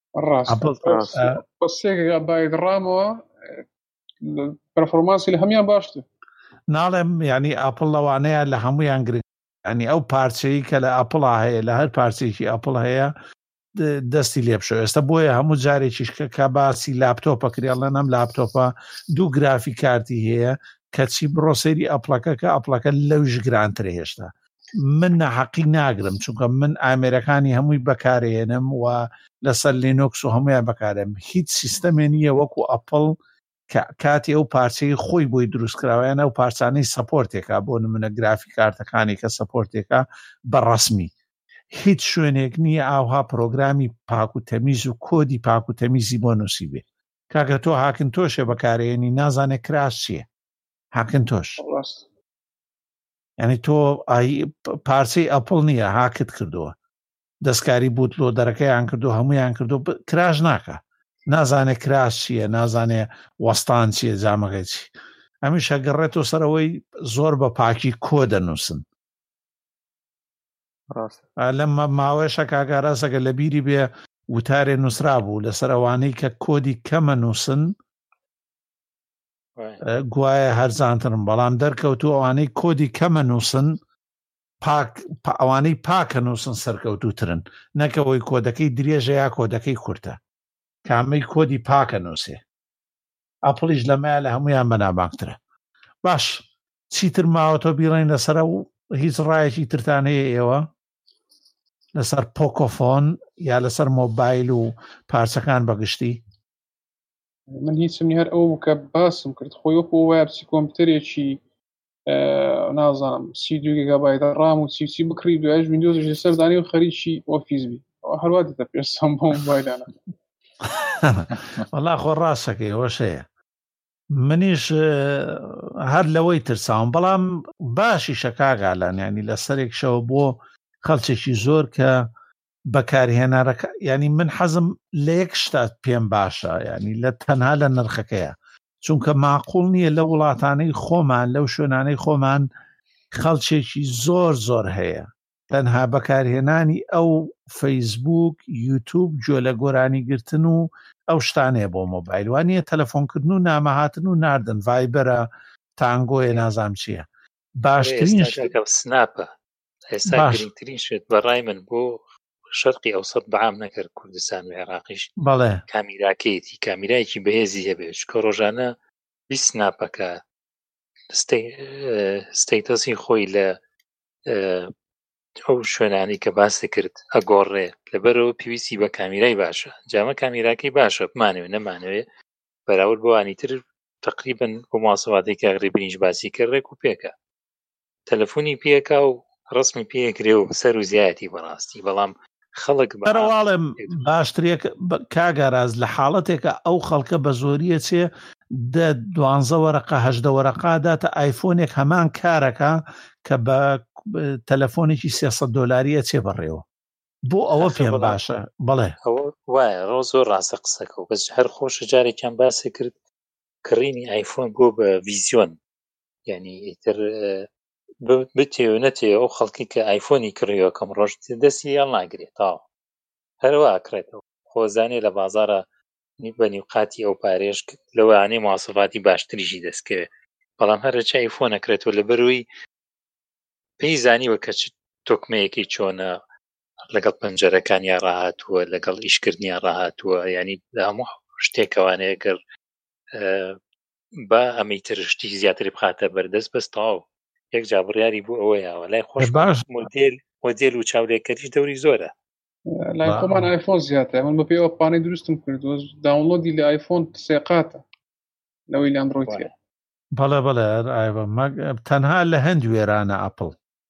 Speaker 2: گیگابایت رامەوە پەرفۆرمانسی لە هەمیان باشتر
Speaker 1: ناڵێم ینی ئەپڵ لەوانەیە لە هەمویان گرنگ ینی ئەو پارچەی کە لە ئەپڵا هەیە لە هەر پارچێکی ئەپڵ هەیە دەستی لێ بشۆ ئێستا بۆیە هەموو جارێکیش کە باسی لاپتۆپە کریاڵە نەم لاپتۆپە دوو گرافی کارتی هەیە کەچی بڕۆسەری ئەپڵەکە کە ئەپڵەکە لەوش گرانترە هێشتا من نەحەقی ناگرم چونکە من ئامێرەکانی هەمووی بەکارێنم و لەسەر لینۆکس و هەمویان بەکارم هیچ سیستەمێ نییە وەکو ئەپڵ کاتی ئەو پارچەی خۆی بۆی دروستکراوەیان ئەو پارچانەی سەپۆرتێکا بۆ نمونە گرافی کارتەکانی کە سەپۆرتێکا بەڕەسمی هیچ شوێنێک نییە ئاوها پرۆگرامی پاک و تەمیز و کۆدی پاک و تەمیزی بۆ نووسی بێ کاکە تۆ هاکن تۆشێ بەکارێنی نازانێت کراس چییە هاکن تۆش ینی تۆ پارچەی ئەپڵ نییە هاکت کردووە دەستکاری بوت لۆ دەرەکەیان کردو هەمویان کردو کراژ ناکە نازانێت کراس چییە نازانێ وەستان چییە جامەکەی چی ئەمیش هەگەڕێتەوە سەرەوەی زۆر بە پاکی کۆ دەنووسن لە ماوەیەشە کاگاراسەکە لە بیری بێ وتارێ نووسرا بوو لەسەر ئەوانەی کە کۆدی کەمە نووسن گوایە هەرزانترم بەڵام دەرکەوتو ئەوانەی کۆدی کەمە نووسن ئەوانەی پاکە نووسن سەرکەوتوترن نەکەوەی کۆدەکەی درێژە یا کۆدەکەی کورتە کامەی کۆدی پاکە نووسێ ئەپڵیش لەمایە لە هەمویان بەنابانگترە باش چیتر ماوەتۆ بیڕێن لەسەر و هیچ ڕایەکی ترتان هەیە ئێوە لەسەر پۆکۆفۆن یا لەسەر مۆبایل و پارچەکان بەگشتی
Speaker 2: من هیچم هەر ئەو کە باسم کرد خۆی وەکو وایە بچی کۆمپیوتەرێکی نازانم 32 گیگابایت ڕام و چی بکڕی دوایش ویندۆزش لەسەر دانی و خەریکی ئۆفیس بی هەروە دەتە پێشسان بۆ مۆبایلانە
Speaker 1: وەڵا خۆ ڕاستەکەی هۆشەیە منیش هەر لەوەی ترساوم بەڵام باشی شەکاگالان ینی لەسەرێک شەوە بۆ خەڵچێکی زۆر کە بەکارهێنارەکە ینی من حەزم لە یەک شتات پێم باشە ینی لە تەنها لە نرخەکەیە چونکە معقول نییە لە وڵاتانەی خۆمان لەو شوێنانەی خۆمان خەڵچێکی زۆر هەیە تەنها بەکارهێنانی ئەو فەیسبوک یوتیوب گوێ لە گۆرانی گرتن و ئەو شتانەیە بۆ مۆبایل وانە تەلەفۆنکردن و نامەهاتن و ناردن ڤایبەرە تانگۆیە نازام چییە باشترین
Speaker 3: سناپە ئێستا گرنگترین شێت بەڕای من بۆ شەرقی ئەوسەد بەعام نەکرد کوردستان و عێراقیش
Speaker 1: بەڵێ
Speaker 3: کامیراکەیەتی کامیرایەکی بەهێزی هەبێت کە ڕۆژانە 20 سناپەکە ستەیتەسی خۆی لە ئەو شوێنانی کە باسی کرد ئەگۆڕێ لەبەرەوە پێویستی بە کامیرای باشە جامە کامیراکەی باشە بمانەوێ نەمانەوێ بەراورد بۆوانی تر تقریبن بۆ ماسەواتێک کاغڕێ برینج باسی کرد ڕێک و پێکە تەلەفۆنی پێکا و ڕسمی پێکرێ و سەر و زیایەتی بەڕاستی بەڵام خەڵک
Speaker 1: بەرەواڵم باشترێک کاگاراز لە حاڵەتێکە ئەو خەڵکە بە زۆریە چێ 12 وەرەقە 18 وەرەقاداتە ئایفۆنێک هەمان کارەکە کە بە تەلەفۆنێکی 300 دۆلاریە چێ بەڕێوە بۆ ئەوە پێم باشە بڵێ
Speaker 3: وایە ڕۆ زۆر ڕاستە قسەکە و بەس هەر خۆشە جارێکیان باسی کرد کڕینی ئایفۆن بۆ بە ڤیزیۆن یعنی ئیتر بتێ و نەتێ ئەو خەڵکی کە ئایفۆنی کڕیەوە کەم ڕۆژ دەستی یان ناگرێت تاوە هەروە ئەکرێتەوە خۆزانێ لە بازارە بە نیوقاتی ئەو پارێش لەوانەیە مواصفاتی باشتریشی دەستکەوێت بەڵام هەرچی ئایفۆن ئەکرێتەوە لەبەروی پێی زانیوە کە تۆکمەیەکی چۆنە لەگەڵ پەنجەرەکانیان ڕاهاتووە لەگەڵ ئیشکردنیان ڕاهاتووە ینی هەموو شتێکەوانەیە گەر بە ئەمەیترشتی زیاتری بخاتە بەردەست بەستاو یەک جابڕیاری بوو ئەوەیەوە لای خۆش
Speaker 1: باش
Speaker 3: مۆدێل و چاولێکەریش دەوری زۆرە
Speaker 2: لای خۆمان ئایفۆن زیاتر من بە پێوە پانەی دروستم کردووە داونلۆدی لە ئایفۆن سێقاتە لەوەی لە ئەندڕۆیدە
Speaker 1: بەڵێ تەنها لە هەند وێرانە ئەپڵ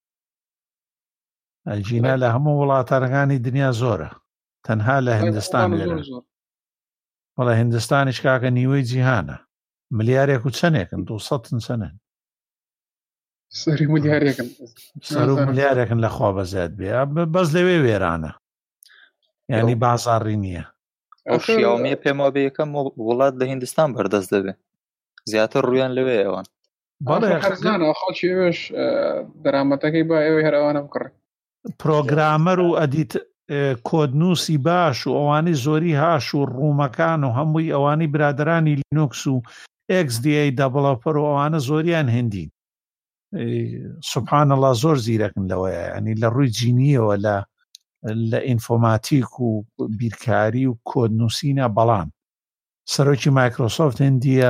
Speaker 1: ئەلجینا لە هەموو وڵاتانەکانی دنیا زۆرە تەنها لە هندستان وێرە هندستانیش کاکە نیوەی جیهانە ملیارێک و چەندێکن 200 چەندن
Speaker 2: سەری ملیارێکن
Speaker 1: سەر و ملیارێکن لە خوا بەزیاد بێ بەس لەوێ وێرانە ینی بازاڕی نییە
Speaker 5: ئەو شیاومی پێما بێ یەکەم وڵات لە هیندستان بەردەست دەبێ زیاتر ڕویان لەوێ ئەوان
Speaker 2: بەڵێ خەڵکی ئێوەش دەرامەتەکەی با ئێوەی هەر ئەوانە بکڕێ
Speaker 1: پرۆگرامەر و ئەدیت کۆدنووسی باش و ئەوانی زۆری هاش و ڕوومەکان و هەمووی ئەوانی برادرانی لینوکس و XDA دەڤڵۆپەر و ئەوانە زۆریان هندین سوبحان الله زۆر زیرەکن لەوەیە ینی لە ڕووی جینیەوە لە ئینفۆماتیک و بیرکاری و کۆدنووسینە بەڵام سەرۆکی مایکرۆسۆفت هندیە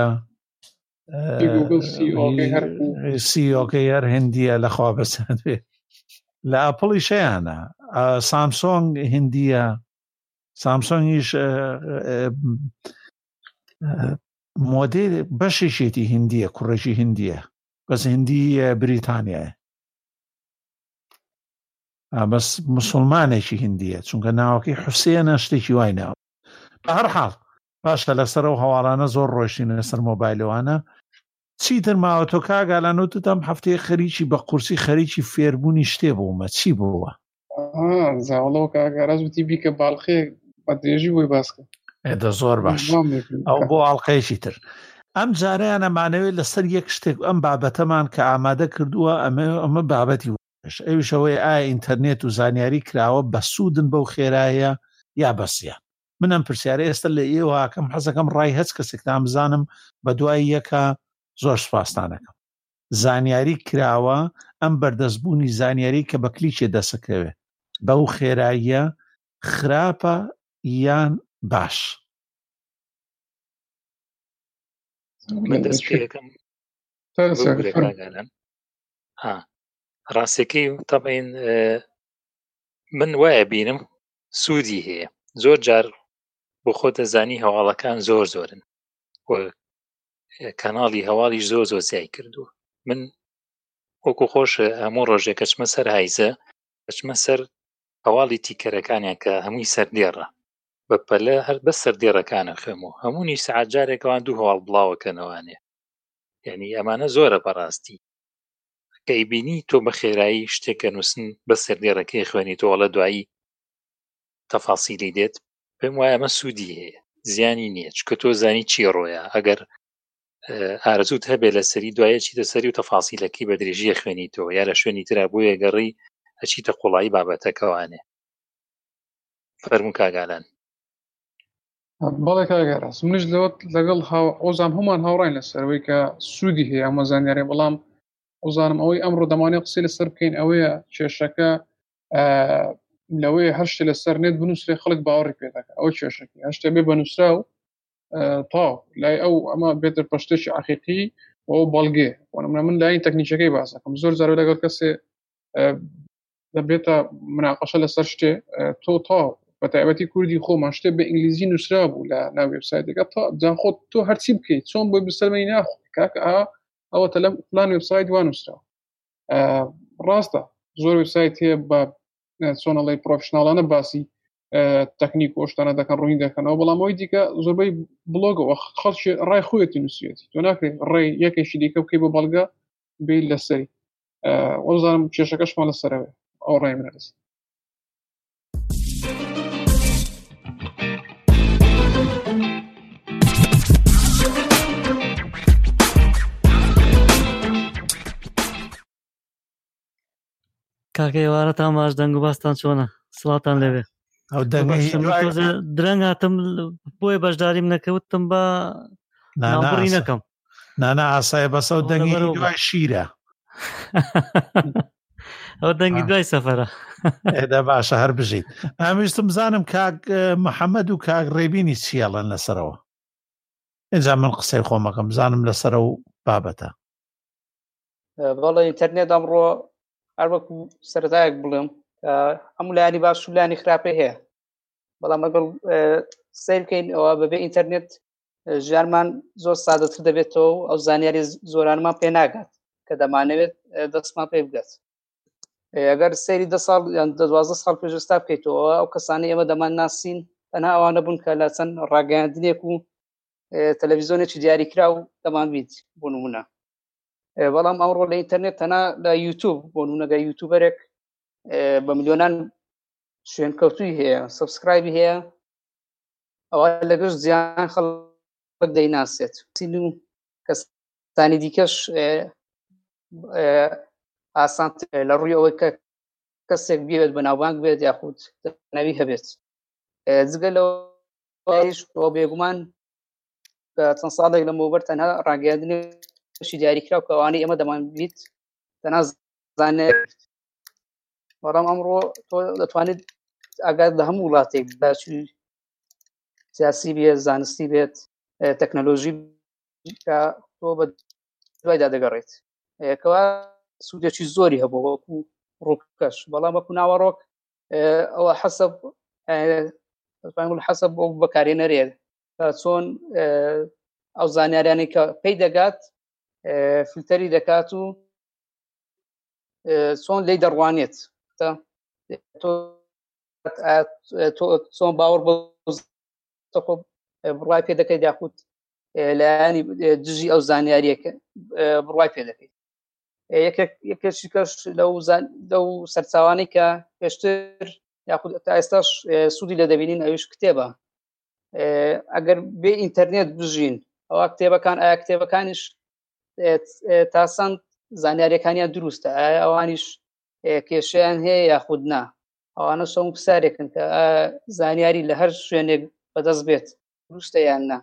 Speaker 1: سیۆکەی هەر هندیە لەخوا بەسەد بێ لە ئەپڵی شەیانە سامسۆنگ هندیە سامسۆنگیش مۆدێل بەشێشێتی هندیە کوڕێکی هندیە بەس هندی بریتانیایە بەس مسلمانێکی هندیە چونکە ناوەکەی حوسێنە شتێکی وای ناوە بە هەر حاڵ باشە لەسەر ئەو هەواڵانە زۆر ڕۆشتینە لەسەر مۆبایلەوانە چیتر ماوە تۆ کاگالانوتتم هەفتەیە خەریکی بە قورسی خەریکی فێربوونی شتێ بوومە چی بووە
Speaker 2: زاوڵەوە کاگاراز وتی بیکە باڵخێ بە درێژی بۆی باسکە
Speaker 1: ئێدە زۆر باش ئەو بۆ ئاڵلقەیەکی تر ئەم جارەیان ئەمانەوێت لەسەر یەک شتێک ئەم بابەتەمان کە ئامادە کردووە ئەمە بابەتی وش ئەویشەوەی ئایا ئینتەرنێت و زانیاری کراوە بە سوودن بەو خێرایە یا بەسیە منم پرسیارە ئێستا لە ئێوەکەم حەزەکەم ڕای هەچ کەسێکتان بزانم بە دوای یەکە زۆر سوپاسدانەکەم زانیاری کراوە ئەم بەردەستبوونی زانیاری کە بە کلیکێ دەسەکەوێ بەو خێراییە خراپە یان باش
Speaker 3: من دەست پێەکەم ڕاستەکەی تەبەین من وایە بینم سوودی هەیە زۆر جار بۆ خۆتە زانی هەواڵەکان زۆرن و کەناڵی هەواڵیش زۆر زیای کردووە. من وەکو خۆش هەموو ڕۆژێک کەچمە سەر هایزە کەچمە سەر هەواڵی تیکەرەکانیان کە هەمووی سەردێڕە بە پەلە هەر بەس سەردێڕەکانە خوێمەوە هەموونی سەعات جارێکەوان دوو هەواڵ بڵاوەکەنەوانێ یعنی ئەمانە زۆرە بەڕاستی کەیبینی تۆ بە خێرایی شتێکە نووسن بە سەردێڕەکەی خوێنیتەوە لە دوایی تەفاسیلی دێت پێم وایە ئەمە سوودی هەیە زیانی نییە چکە تۆ زانی چی ڕۆیە ئەگەر ئارزوت هەبێ لە سەری دوایەکی دەسەری و تەفاسیلەکەی بە درێژیە خوێنیتەوە یا لە شوێنی ترا بۆ یەگەڕی ئەچیتە قوڵایی بابەتەکەوانێ. فەرموو کاگالان.
Speaker 2: بەڵێ کاگەڕاست منش لەگەڵ ئۆزام هەمان هاوڕاین لەسەرەوەی کە سوودی هەیە ئەمە زانیاری بەڵام ئۆزانم ئەوەی ئەمڕۆ دەمانێت قسەی لەسەر بکەین ئەوەیە کێشەکە لەوەیە هەر شتێ لەسەر نێت بنووسێ خەڵک باوەڕی پێ دەکات ئەوە کێشەکەی هەر شتێ بێ بەنووسرا و تاو لای ئەو ئەمە بێتە پشتێکی عەقیقی ئەو بەڵگێ من لای تەکنیکەکەی باس دەکەم زۆر جار لەگەڵ کەسێ دەبێتە مناقەشە لەسەر شتێ تۆ تاو بە تایبەتی کوردی خۆمان شتێ بە ئینگلیزی نووسرا بوو لە ناو وێبسایتێکە جان خۆت تۆ هەرچی بکەیت چۆن بۆی بسەلمەی ناخۆ کاکە ئەوە تەلەم فلان وێبسایت وان نووسرا ڕاستە زۆر وێبسایت هەیە بە چۆنەڵی پرۆفشناڵانە باسی تەکنیک و شتانە دەکەن ڕووی دەکەنەوە بەڵام ئەوەی دیکە زۆربەی بڵۆگەوە خەڵکی ڕای خۆیەتی نووسێتی تۆ ناکرێت ڕێی یەکێکی دیکە بکەی بۆ بەڵگە بێ لەسەری وەزانم کێشەکەشمان لەسەرەوێ ئەو ڕای منە دەست
Speaker 6: کاکە ئێوارەتان باش دەنگ و باستان چۆنە سڵاتان لەوێ
Speaker 1: ئەو دەنگی
Speaker 6: درەنگ هاتم بۆیە بەشداریم نەکەوتم بە ناوبڕی نەکەم
Speaker 1: نانا ئاسایە بەسە و دەنگی دوای شیرە
Speaker 6: ئەو دەنگی دوای سەفەرە
Speaker 1: ئێدە باشە هەر بژیت ئەمیشتم بزانم کاک محەممەد و کاک ڕێبینی چیاڵەن لەسەرەوە ئێجا من قسەی خۆمەکەم بزانم لەسەرە و بابەتە
Speaker 4: بەڵێ ئینتەرنێت ئەمڕۆ هەر وەکو سەرەتایەک بڵێم هەموو لایانی باش و لایانی خراپێ هەیە بەڵام ئەگەڵ سیر بکەین ئەوە بەبێ ئینتەرنێت ژیانمان زۆر سادەتر دەبێتەوە و ئەو زانیاری زۆرانمان پێ ناگات کە دەمانەوێت دەستمان پێ بگات ئەگەر سەیری 10 ساڵ یان 12 ساڵ پێشستا بکەیتەوە ئەو کەسانی ئێمە دەمان ناسین تەنها ئەوانە بوون کە لە چەند ڕاگەیاندنێک و تەلەڤیزۆنێکی دیاریکرا و دەمان بیت بۆ نمونە بەڵام ئەمڕۆ لە ئینتەرنێت تەنها لە یوتیوب بۆ نمونەگە یوتیوبەرێک بە میلیۆنان شوێنکەوتووی هەیە سەبسکرایبی هەیە ئەوە لەگەشت زیان خەڵک دەیناسێت و کەسانی دیکەش ئاسان لە ڕووی ئەوەی کە کەسێک بێت بەناوبانگ بێت یاخود ناوی هەبێت جگە لەوەش بۆ بێگومان چەند ساڵێک لەمەوبەر تەنها ڕاگەیاندنێکی دیاریکرا و کە ئەوانەی ئێمە دەمان بیت تەنها زانێت بەڵام ئەمڕۆ تۆ دەتوانێت ئاگات لە هەموو وڵاتێک باچوی سیاسی بێت زانستی بێت تەکنەلۆژی کە تۆ بە دوایدا دەگەڕێت کەوا سوودێکی زۆری هەبوو وەکو ڕووکەش بەڵام وەکو ناوەڕۆک ئەوە حەسەب بۆ بەکارهێنەرێ چۆن ئەو زانیاریانی کە پێی دەگات فیلتەری دەکات و چۆن لێی دەڕوانێت چۆن باوەڕ بڕوای پێ دەکەیت یاخود لایانی دژی ئەو زانیاریەکە بڕوای پێ دەکەیت یەکێکی کەش لەو سەرچاوانەی کە پێشتر یاخود تا ئێستاش سوودی لە دەبینین ئەوش کتێبە ئەگەر بێ ئینتەرنێت بژین ئەوە کتێبەکان ئایا کتێبەکانیش تاسەند زانیاریەکانیان دروستە ئایا ئەوانیش کێشەیان هەیە یاخود نا ئەوانە سەم پرسیارێکن کە زانیاری لە هەر شوێنێک بەدەست بێت دروستە یان نا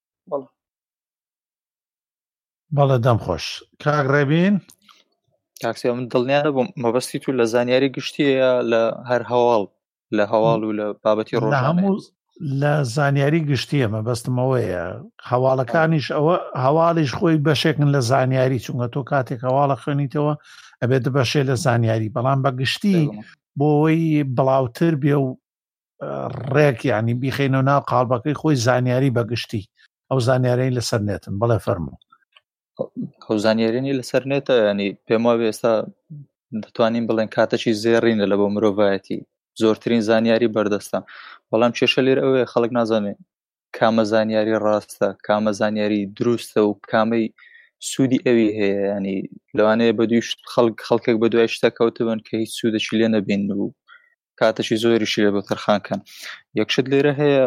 Speaker 1: بەڵێ دەم خۆش کاک ڕێبین
Speaker 5: کاکسێ من دڵنیانە بۆ مەبەستی تو لە زانیاری گشتیە لە هەر هەواڵ لە هەواڵ و لە بابەتی ڕۆژانە
Speaker 1: لە زانیاری گشتیە مەبەستمەوەیە هەواڵەکانیش ئەوە هەواڵیش خۆی بەشێکن لە زانیاری چونکە تۆ کاتێک هەواڵە خوێنیتەوە ئەبێت بەشێ لە زانیاری بەڵام بە گشتی بۆەوەی بڵاوتر بێ و ڕێک یعنی بیخێنەوە ناو قاڵبەکەی خۆی زانیاری بەگشتی ئەو زانیارەی لەسەر نێتن بەڵێ فەرموو
Speaker 5: ئەو زانیارێنی لەسەر نێتە ینی پێم وایە ئێستا دەتوانین بڵێن کاتەکی زێڕینە لە بۆ مرۆڤایەتی زۆرترین زانیاری بەردەستە بەڵام کێشە لێرە ئەوەیە خەڵک نازانێت کامە زانیاری ڕاستە کامە زانیاری دروستە و کامەی سوودی ئەوی هەیە ینی لەوانەیە بە دوی خەڵکێک بە دوای شتە کەوتبن کە هیچ سوودەشی لێ نەبین و کاتەشی زۆریشی لێ بە تەرخانکەن یەکشت لێرە هەیە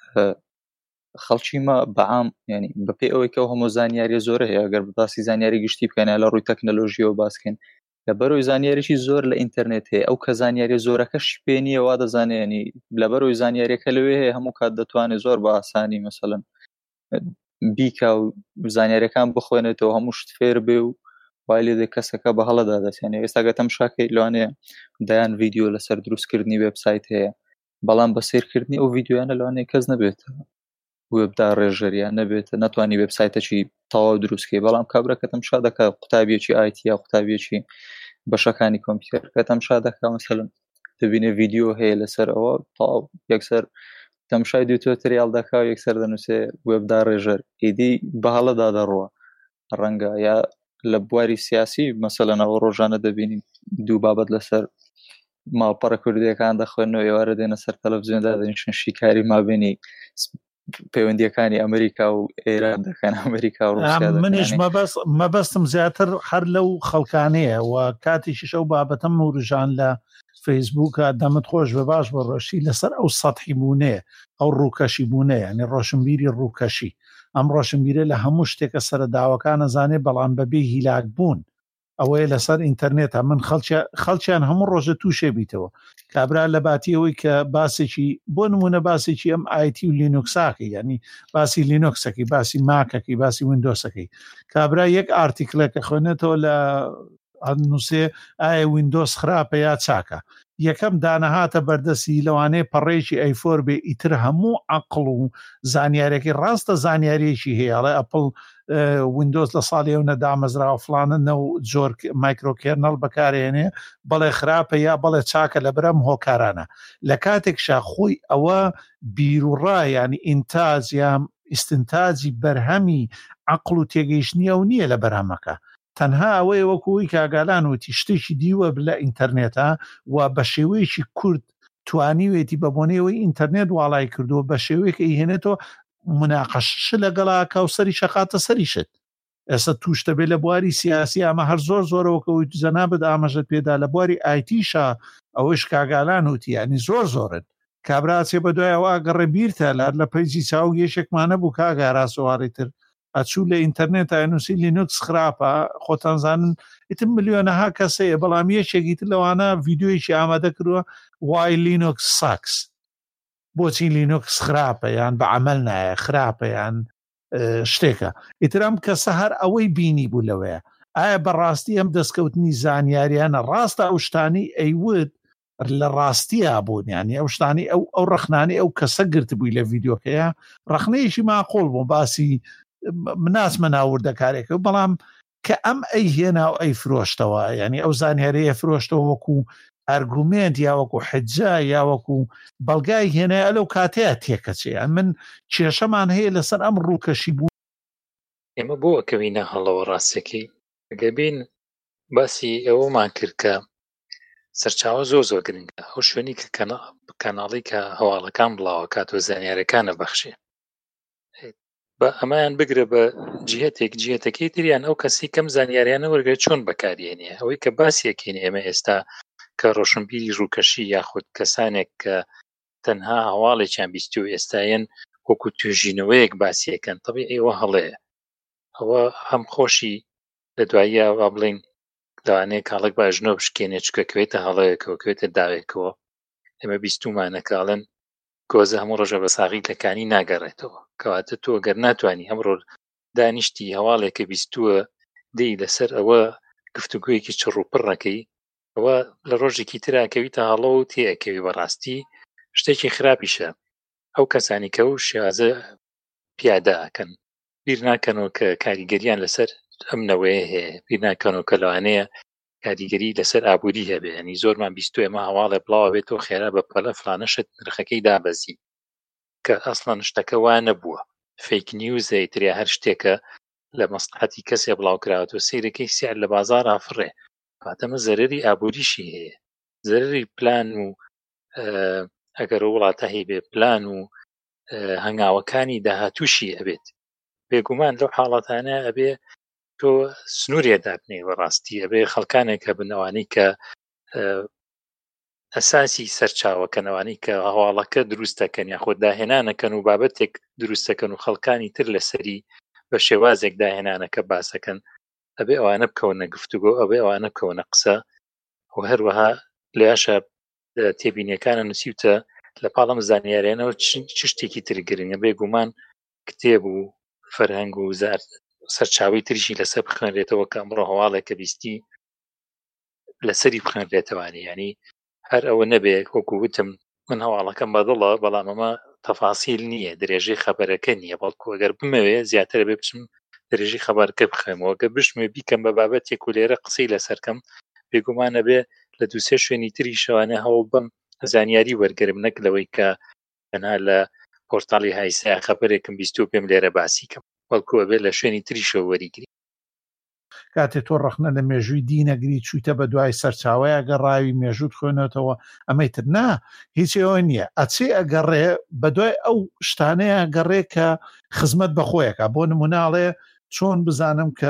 Speaker 5: خەڵکی ما بەعام ینی بەپێی ئەوەی کە هەموو زانیاری زۆرە هەیە ئەگەر باسی زانیاری گشتی بکەین لە ڕووی تەکنەلۆژیەوە باسکەین لەبەرەوەی زانیاریی زۆر لە ئینتەرنێت هەیە ئەو کە زانیاری زۆرەکەش پێ نییە وا دەزانێنی لەبەرەوەی زانیاریەکە لەوێ هەیە هەموو کات دەتوانێت زۆر بە ئاسانی مەسەڵەن بیکا و زانیاریەکان بخوێنێتەوە هەموو شت فێر بێ و وای لێ کەسەکە بە هەڵە دادەچێنێ ئێستاگە تەماشاکەی لەوانەیە دایان ڤیدیۆ لەسەر دروستکردنی وێبسایت هەیە بەڵام بە سیرکردنی ئەو ڤیدیۆیانە لەوانەیە کەس نەبێتەوە وێبدا ڕێژەریان نەبێتە ناتوانانی وێبسایتەکی تەواو دروستکەی بەڵام کابرا کە تەماشا دەکا قوتابیەکی ئایتی یا قوتابیەکی بەشەکانی کۆمپیوتەر کە تەماشا دەکا مەسەڵەن دەبینێ ڤیدیۆ هەیە لەسەر ئەوە تەواو یەکسەر تەماشای دوو تۆتریال دەکا و یەکسەر دەنووسێ وێبدا ڕێژەر ئیدی بە هەڵەدا دەڕوە ڕەنگە یا لە بواری سیاسی مەسەڵەن ئەوە ڕۆژانە دەبینین دوو بابەت لەسەر ماڵپەڕە کوردیەکان دەخوێنەوە ئێوارە دێنە سەر تەلەڤیزیۆندا دەنیشن شیکاری مابینی پەیوەندیەکانی ئەمریکا و ئێران دەکەن ئەمریکا و ڕوسیا
Speaker 1: منیش مەبەستم زیاتر هەر لەو خەڵکانەیە و کاتیشیش ئەو بابەتەم وروژان لە فەیسبووکە دەمت خۆش بە باش بە ڕۆشی لەسەر ئەو سەدحی بوونەیە ئەو ڕووکەشی بوونەیە ینی ڕۆشنبیری ڕووکەشی ئەم ڕۆشنبیرە لە هەموو شتێکە سەرداوەکان نەزانێ بەڵام بەبێ هیلاک بوون ئەوەیە لەسەر ئینتەرنێتە من خەڵکیان هەموو ڕۆژە تووشێ بیتەوە کابرا لە باتیەوەی کە باسێکی بۆ نمونە باسێکی ئەم ئایتی و لینوکساکەی ینی باسی لینوکسەکەی باسی ماکەکەی باسی ویندۆسەکەی کابرا یەک ئارتیکلەکە خوێنێتەوە لە نووسێ ئایا ویندۆس خراپە یا چاکە یەکەم دانەهاتە بەردەسی لەوانەیە پەڕێکی ئەیفۆر بێ ئیتر هەموو عەقڵ و زانیارێکی ڕاستە زانیاریەکی هەیەڵێ ئەپڵ ویندۆز لە ساڵی ئەو نەدامەزراوە فلانە نەو زۆر مایکرۆکێرنەڵ بەکارێنێ بەڵێ خراپە یا بەڵێ چاکە لە برەم هۆکارانە لە کاتێکشا خۆی ئەوە بیرروڕا ینی ئینتاج یان ئیستنتاجی بەرهەمی عەقڵ و تێگەیشتنی ئەو نییە لە بەرهەمەکە تەنها ئەوەیە وەکوی کاگالان وتی شتێکی دیوە لە ئینتەرنێتە و بە شێوەیەکی کورد توانیوێتی بە بۆنەوەی ئینتەرنێت واڵای کردووە بە شێوەیەکە هێنێتەوە مناقەشش لەگەڵا کاوسەری شەقاتە سەریشت ئێستا توش دەبێ لە بواری سیاسی ئەمە هەر زۆر زۆرەوەکەوەی زەنابەت ئاماژەت پێدا لە بواری ئایتیشە ئەوەش کاگالان وتی ینی زۆرن کابراچێ بە دوایەوە ئەگەڕێ بیرتە لە پەیجی چاو یەشێکمانە بوو کاگاراسەواری تر ئەچوو لە ئینتەرنێت ئاینوسی لینوکس خراپە خۆتانزانن ئیتم ملیۆنەها کەسەیە بەڵام یەکێکی تر لەوانە ڤیدیۆیشی ئامادە کردووە وای لینوکس ساکس بۆچی لینوکس خراپە یان بە عەمەل نایە خراپە یان شتێکە ئیترام کەسە هەر ئەوەی بینی بوو لەوەیە ئایا بەڕاستی ئەم دەستکەوتنی زانیاریانە ڕاستە ئەو شتانی ئەیوت لە ڕاستیە بوون ینی ئەو شتانی ئەو ڕەخنانی ئەو کەسە گرت بووی لە ڤیدیۆکەیە ڕەخنەیەشی ماقۆڵ بوو باسی مناسمە ناوردەکارێکە بەڵام کە ئەم ئەی هێنا و ئەی فرۆشتەوە ینی ئەو زانیاریە فرۆشتەوە وەکو ئەرگومنت یا وەکو حجا یا وەکو بەڵگای هێنای لەو کاتەیە تێکەچێ من کێشەمان هەیە لەسەر ئەم ڕووکەشی بوو
Speaker 3: ئێمە بۆ ئەکەوینە هەڵەوە ڕاستەکەی ئەگەبین باسی ئەوەمان کرد کە سەرچاوە زۆر گرنگە ئەو شوێنی کە کەناڵی کە هەواڵەکان بڵاوە کاتۆ زانیارەکانە بەخشێ بە ئەمایان بگرە بە جیهەتەکەی تریان ئەو کەسی کەم زانیاریانە وەرگێت چۆن بەکارێنێ ئەوەی کە باسیەکەین ئێمە ئێستا کە ڕۆشنبیری ڕووکەشی یاخود کەسانێک کە تەنها هەواڵێکیان بیستی و ئێستایەن وەکو توێژینەوەیەک باسیەکەن تەبیعی ئەوە هەڵەیە ئەوە هەم خۆشی لە دواییە وا بڵین لەوانەیە کاڵک باژنۆ بشکێنێ چکەکەوێتە هەڵەیەکەوە کوێتە داوێکەوە ئێمە بیستومانەکاڵن گۆزە هەموو ڕۆژە بە ساغی لەکانی ناگەڕێتەوە کەواتە تۆ گەر ناتوانانی ئەمڕۆ دانیشتی هەواڵێکە بیستووە دەی لەسەر ئەوە گفتوگویەکی چڕوپڕەکەی ئەوە لە ڕۆژێکی تراکەویتە هەڵە و تێئەکەوی بەڕاستی شتێکی خراپیشە ئەو کەسانی کە و شێوازە پیادە ئەکەن بیر ناکەنەوە کە کاریگەریان لەسەر ئەمنەوەیە هەیە بیر ناکەنەوە کە لەوانەیە کاریگەری لەسەر ئابووری هەبێ ینی زۆرمان بیستو ئێمە هەواڵێ بڵاوە بێتەوە خێرا بە پەلە فلانەشت نرخەکەی دابەزی کە ئەسڵەن شتەکە وا نەبووە فیک نیوزە تریا هەر شتێکە لە مەسلحەتی کەسێ بڵاوکراوەوە سیرەکەی سیار لە بازار ئافڕێ کاتەمە زەرری ئابووریشی هەیە زەرری پلان و ئەگەر وڵاتە هەیبێ پلان و هەنگاوەکانی داهاتووشی ئەبێت بێگومان لەو حاڵەتانە ئەبێ تۆ سنوورێدا بنێ بەڕاستی ئەبێ خەڵکانێکە بنەوانی کە ئەساسی سەرچاوەکەنەوانی کە هەواڵەکە دروستەکەن یاخۆ داهێنانەکەن و بابەتێک دروستەکەن و خەڵکانی تر لەسەری بە شێوازێک داهێنانەکە باسەکەن ئەبێ ئەوانە بکەونە گفتوگۆ ئەبێ ئەوانە بکەونە قسە و هەروەها لەیاشە تێبینیەکانە نووسیوتە لە پاڵەم زانیاریانەوە چ شتێکی تر گرنگە بێگومان کتێب و فەرهەنگ و سەرچاوی تریشی لەسەر بخوێنرێتەوە کە ئەمڕۆ هەواڵێکە بیستی لەسەری بخوێنرێتەوانی ینی هەر ئەوە نەبێ وەکو وتم من هەواڵەکەم بەدڵە بەڵام ئەمە تەفاسیل نییە درێژەی خەبەرەکە نییە بەڵکو ئەگەر بمەوێ زیاتر بێ بچم درێژی خەبەرەکە بخوێمەوە گە بشمێ بیکەم بە بابەتێک و لێرە قسەی لەسەرکەم بێگومانە بێ لە دووسێ شوێنی تری شەوانە هەوڵ بم زانیاری وەرگرم نەک لەوەی کە تەنها لە پۆرتاڵی هایسا خەبەرێکم بیست و پێم لێرە باسیکەم بەڵکو ئەبێ لە شوێنی تریشەوە وەریگری
Speaker 1: کاتێ تۆ ڕخنە لە مێژووی دینەگری چوویتە بە دوای سەرچاوەیە گەڕاوی مێژووت خوێنێتەوە ئەمەی تر نا هیچەوە نییە ئەچێ ئەگەڕێ بە دوای ئەو شتانەیە گەڕێ کە خزمەت بەخۆیەکە بۆ نموناڵێ چۆن بزانم کە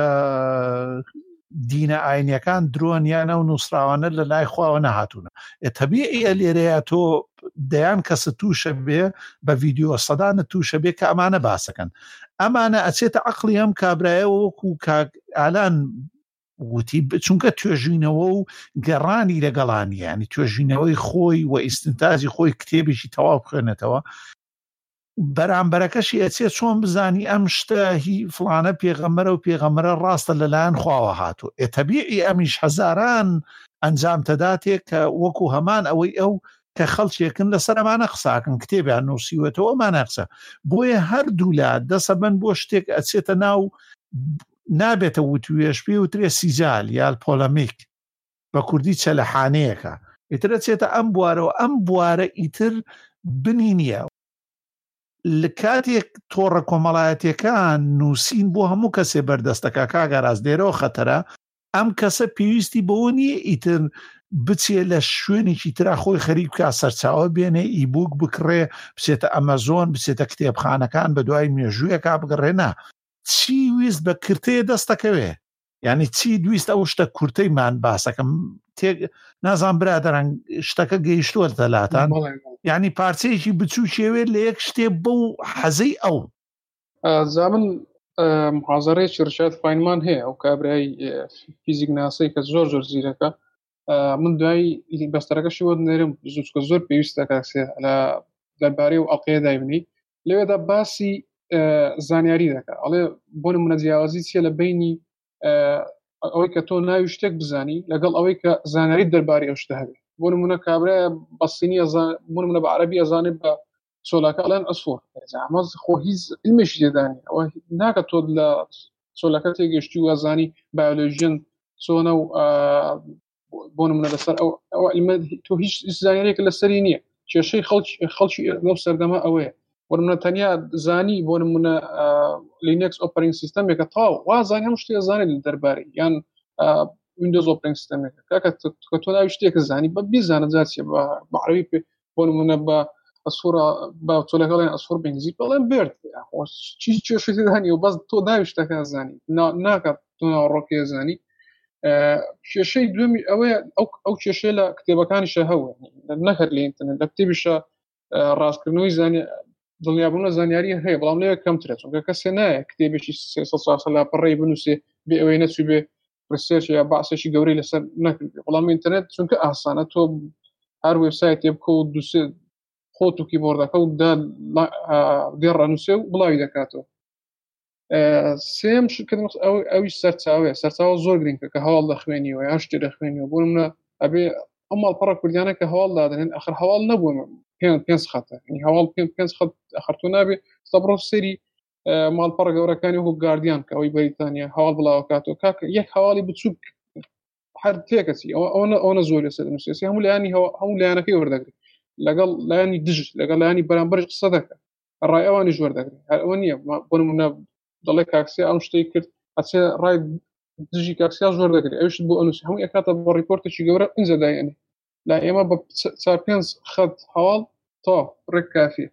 Speaker 1: دینە ئاینیەکان درۆنیانە و نووسراوانە لە لای خواوە نەهاتوونە تەبیعیە لێرەیە تۆ دەیان کەسە تووشە بێ بە ڤیدیۆ سەدانە تووشە بێ کە ئەمانە باسەکەن ئەمانە ئەچێتە عەقڵی ئەم کابرایەوە وەکو ئالان وتی چونکە توێژینەوە و گەڕانی لەگەڵانی ینی توێژینەوەی خۆی و ئیستنتاجی خۆی کتێبێکی تەواو بخوێنێتەوە بەرامبەرەکەشی ئەچێت چۆن بزانی ئەم شتە هی فڵانە پێغەمبەرە و پێغەمبەرە ڕاستە لەلایەن خواوە هاتووە تەبیعی ئەمیش هەزاران ئەنجام تەداتێک کە وەکو هەمان ئەوەی ئەو کە خەڵکێکن لەسەر ئەمانە قساکن کتێبیان نووسیوێتەوە ئەمانە قسە بۆیە هەردوو لا دەسەبەن بۆ شتێک ئەچێتە ناو نابێتە وتوێش پێ وترێ سیجال یا پۆلەمیک بە کوردی چەلەحانەیەکە ئیترە چێتە ئەم بوارەوە ئەم بوارە ئیتر بنی نییە لە کاتێک تۆڕە کۆمەڵایەتیەکان نووسین بۆ هەموو کەسێ بەردەستەکە کاگەڕاست دێرەوە خەتەرە ئەم کەسە پێویستی بەوە نییە ئیتر بچێ لە شوێنێکی ترا خۆی خەریک بکە سەرچاوە بێنێ ئیبوک بکڕێ بچێتە ئەمەزۆن بچێتە کتێبخانەکان بە دوای مێژوویەکا بگەڕێنا چی ویست بە کورتەیە دەستەکەوێ یعنی چی دویست ئەو شتە کورتەیمان باسەکەم نازان برادەران شتەکە گەیشتووە دەلاتان یعنی پارچەیەکی بچوو شێوێت لە یەک شتێ بەو حەزەی ئەو
Speaker 2: زامن محازەڕێکی ڕشاد فاینمان هەیە ئەو کابرای فیزیک ناسەی کە زۆر زۆر زیرەکە من دوای بەستەرەکەشی وە نێرم زوچکە زۆر پێویستە کاکسێ لە دەربارەی و ئەڵقەیە دایبنی لەوێدا باسی زانیاری دەکە ئەڵێ بۆ نمونە جیاوازی چیە لە بینی ئەوەی کە تۆ ناوی شتێک بزانی لەگەڵ ئەوەی کە زانیاری دەربارەی ئەو شتە هەبێت بۆ نمونە کابرایە بەسینی بۆ نمونە بە عەرەبی ئەزانێت بە چۆلەکە ئەڵێن ئەسفۆر ئەمەز خۆ هیچ علمێکی تێدانی ئەوە ناکە تۆ لە چۆلەکە تێگەشتی و ئەزانی بایۆلۆژیەن چۆنە و بۆ نمونە لەسەر ئەو علمە تۆ هیچ زانیاریەک لەسەری نییە کێشەی خەڵکی لەو سەردەما ئەوەیە بۆ نمونە تەنیا زانی بۆ نمونە لینکس ئۆپەرینگ سیستەمێکە تاو وازانی هەموو شتێک زانێت لە دەربارەی یان ویندۆز ئۆپەرینگ سیستەمێکە کە تۆ ناوی شتێک زانی بە بیزانە جاچێ بە عەرەبی بۆ نمونە بە ئەسفۆرە با چۆلەکە بڵێن ئەسفۆر بەنگلیزی بڵێن بێرد چی کێشەی دانی و بەس تۆ ناوی شتەکە زانی ناکات تۆ ناوەڕۆکێ زانی کێشەی دومی ئەوەیە ئەو کێشەیە لە کتێبەکانیشە هەوە نەکرد لە ئینتەرنێت لە کتێبیشە ڕاستکردنەوەی دڵنیابوونە زانیاری هەیە بەڵام لێوە کەمترە چونکە کەسێ نایە کتێبێکی 300 ساڵ لاپەڕێی بنووسێ بێ ئەوەی نەچوو بێ ڕسێرچ یا باسێکی گەورەی لەسەر نەکرد بەڵام ئینتەرنێت چونکە ئاسانە تۆ هەر وێبسایتێ بکە و دووسێ خۆت و کیبۆردەکە و دێڕەنووسێ و بڵاوی دەکاتەوە سێم ئەوی سەرچاوە زۆر گرنگکە کە هەواڵ دەخوێنیەوە یا شتێ دەخوێنیەوە بۆ نمونە ئەبێ ئەم ماڵپەڕە کوردیانە کە هەواڵ دادنێن ئەخر هەواڵ نەبووە پێنج خەتە هەواڵ پێنج خەت ئەخرتۆ نابێ سەبڕۆ سەری ماڵپەڕە گەورەکانی وەکو گاردیان کە ئەوەی بەریتانیا هەواڵ بڵاوکاتەوە کاکە یەک هەواڵی بچووک هەر تێکەچی ئەوە زۆر لەسەر نووسێسی هەموو لایانی هەموو لایەنەکەی وەردەگرێت لەگەڵ لایانی دژ لەگەڵ لایانی بەرامبەرش قسە دەکات ڕای ئەوانی ژوەر دەگرێت ئەوە نییە بۆ نمونە دەڵێ کاکسیا ئەم شتەی کرد ئەچێ ڕای دژی کاکسیا ژوەر دەگرێت ئەوشت بۆ ئەنووس هەموو ئەکاتە بۆ ڕیپۆرتێکی گەورە ئینجا دایێنێ لا ئێمە بە 4-5 خەت هەواڵ تا ڕێک کافیە.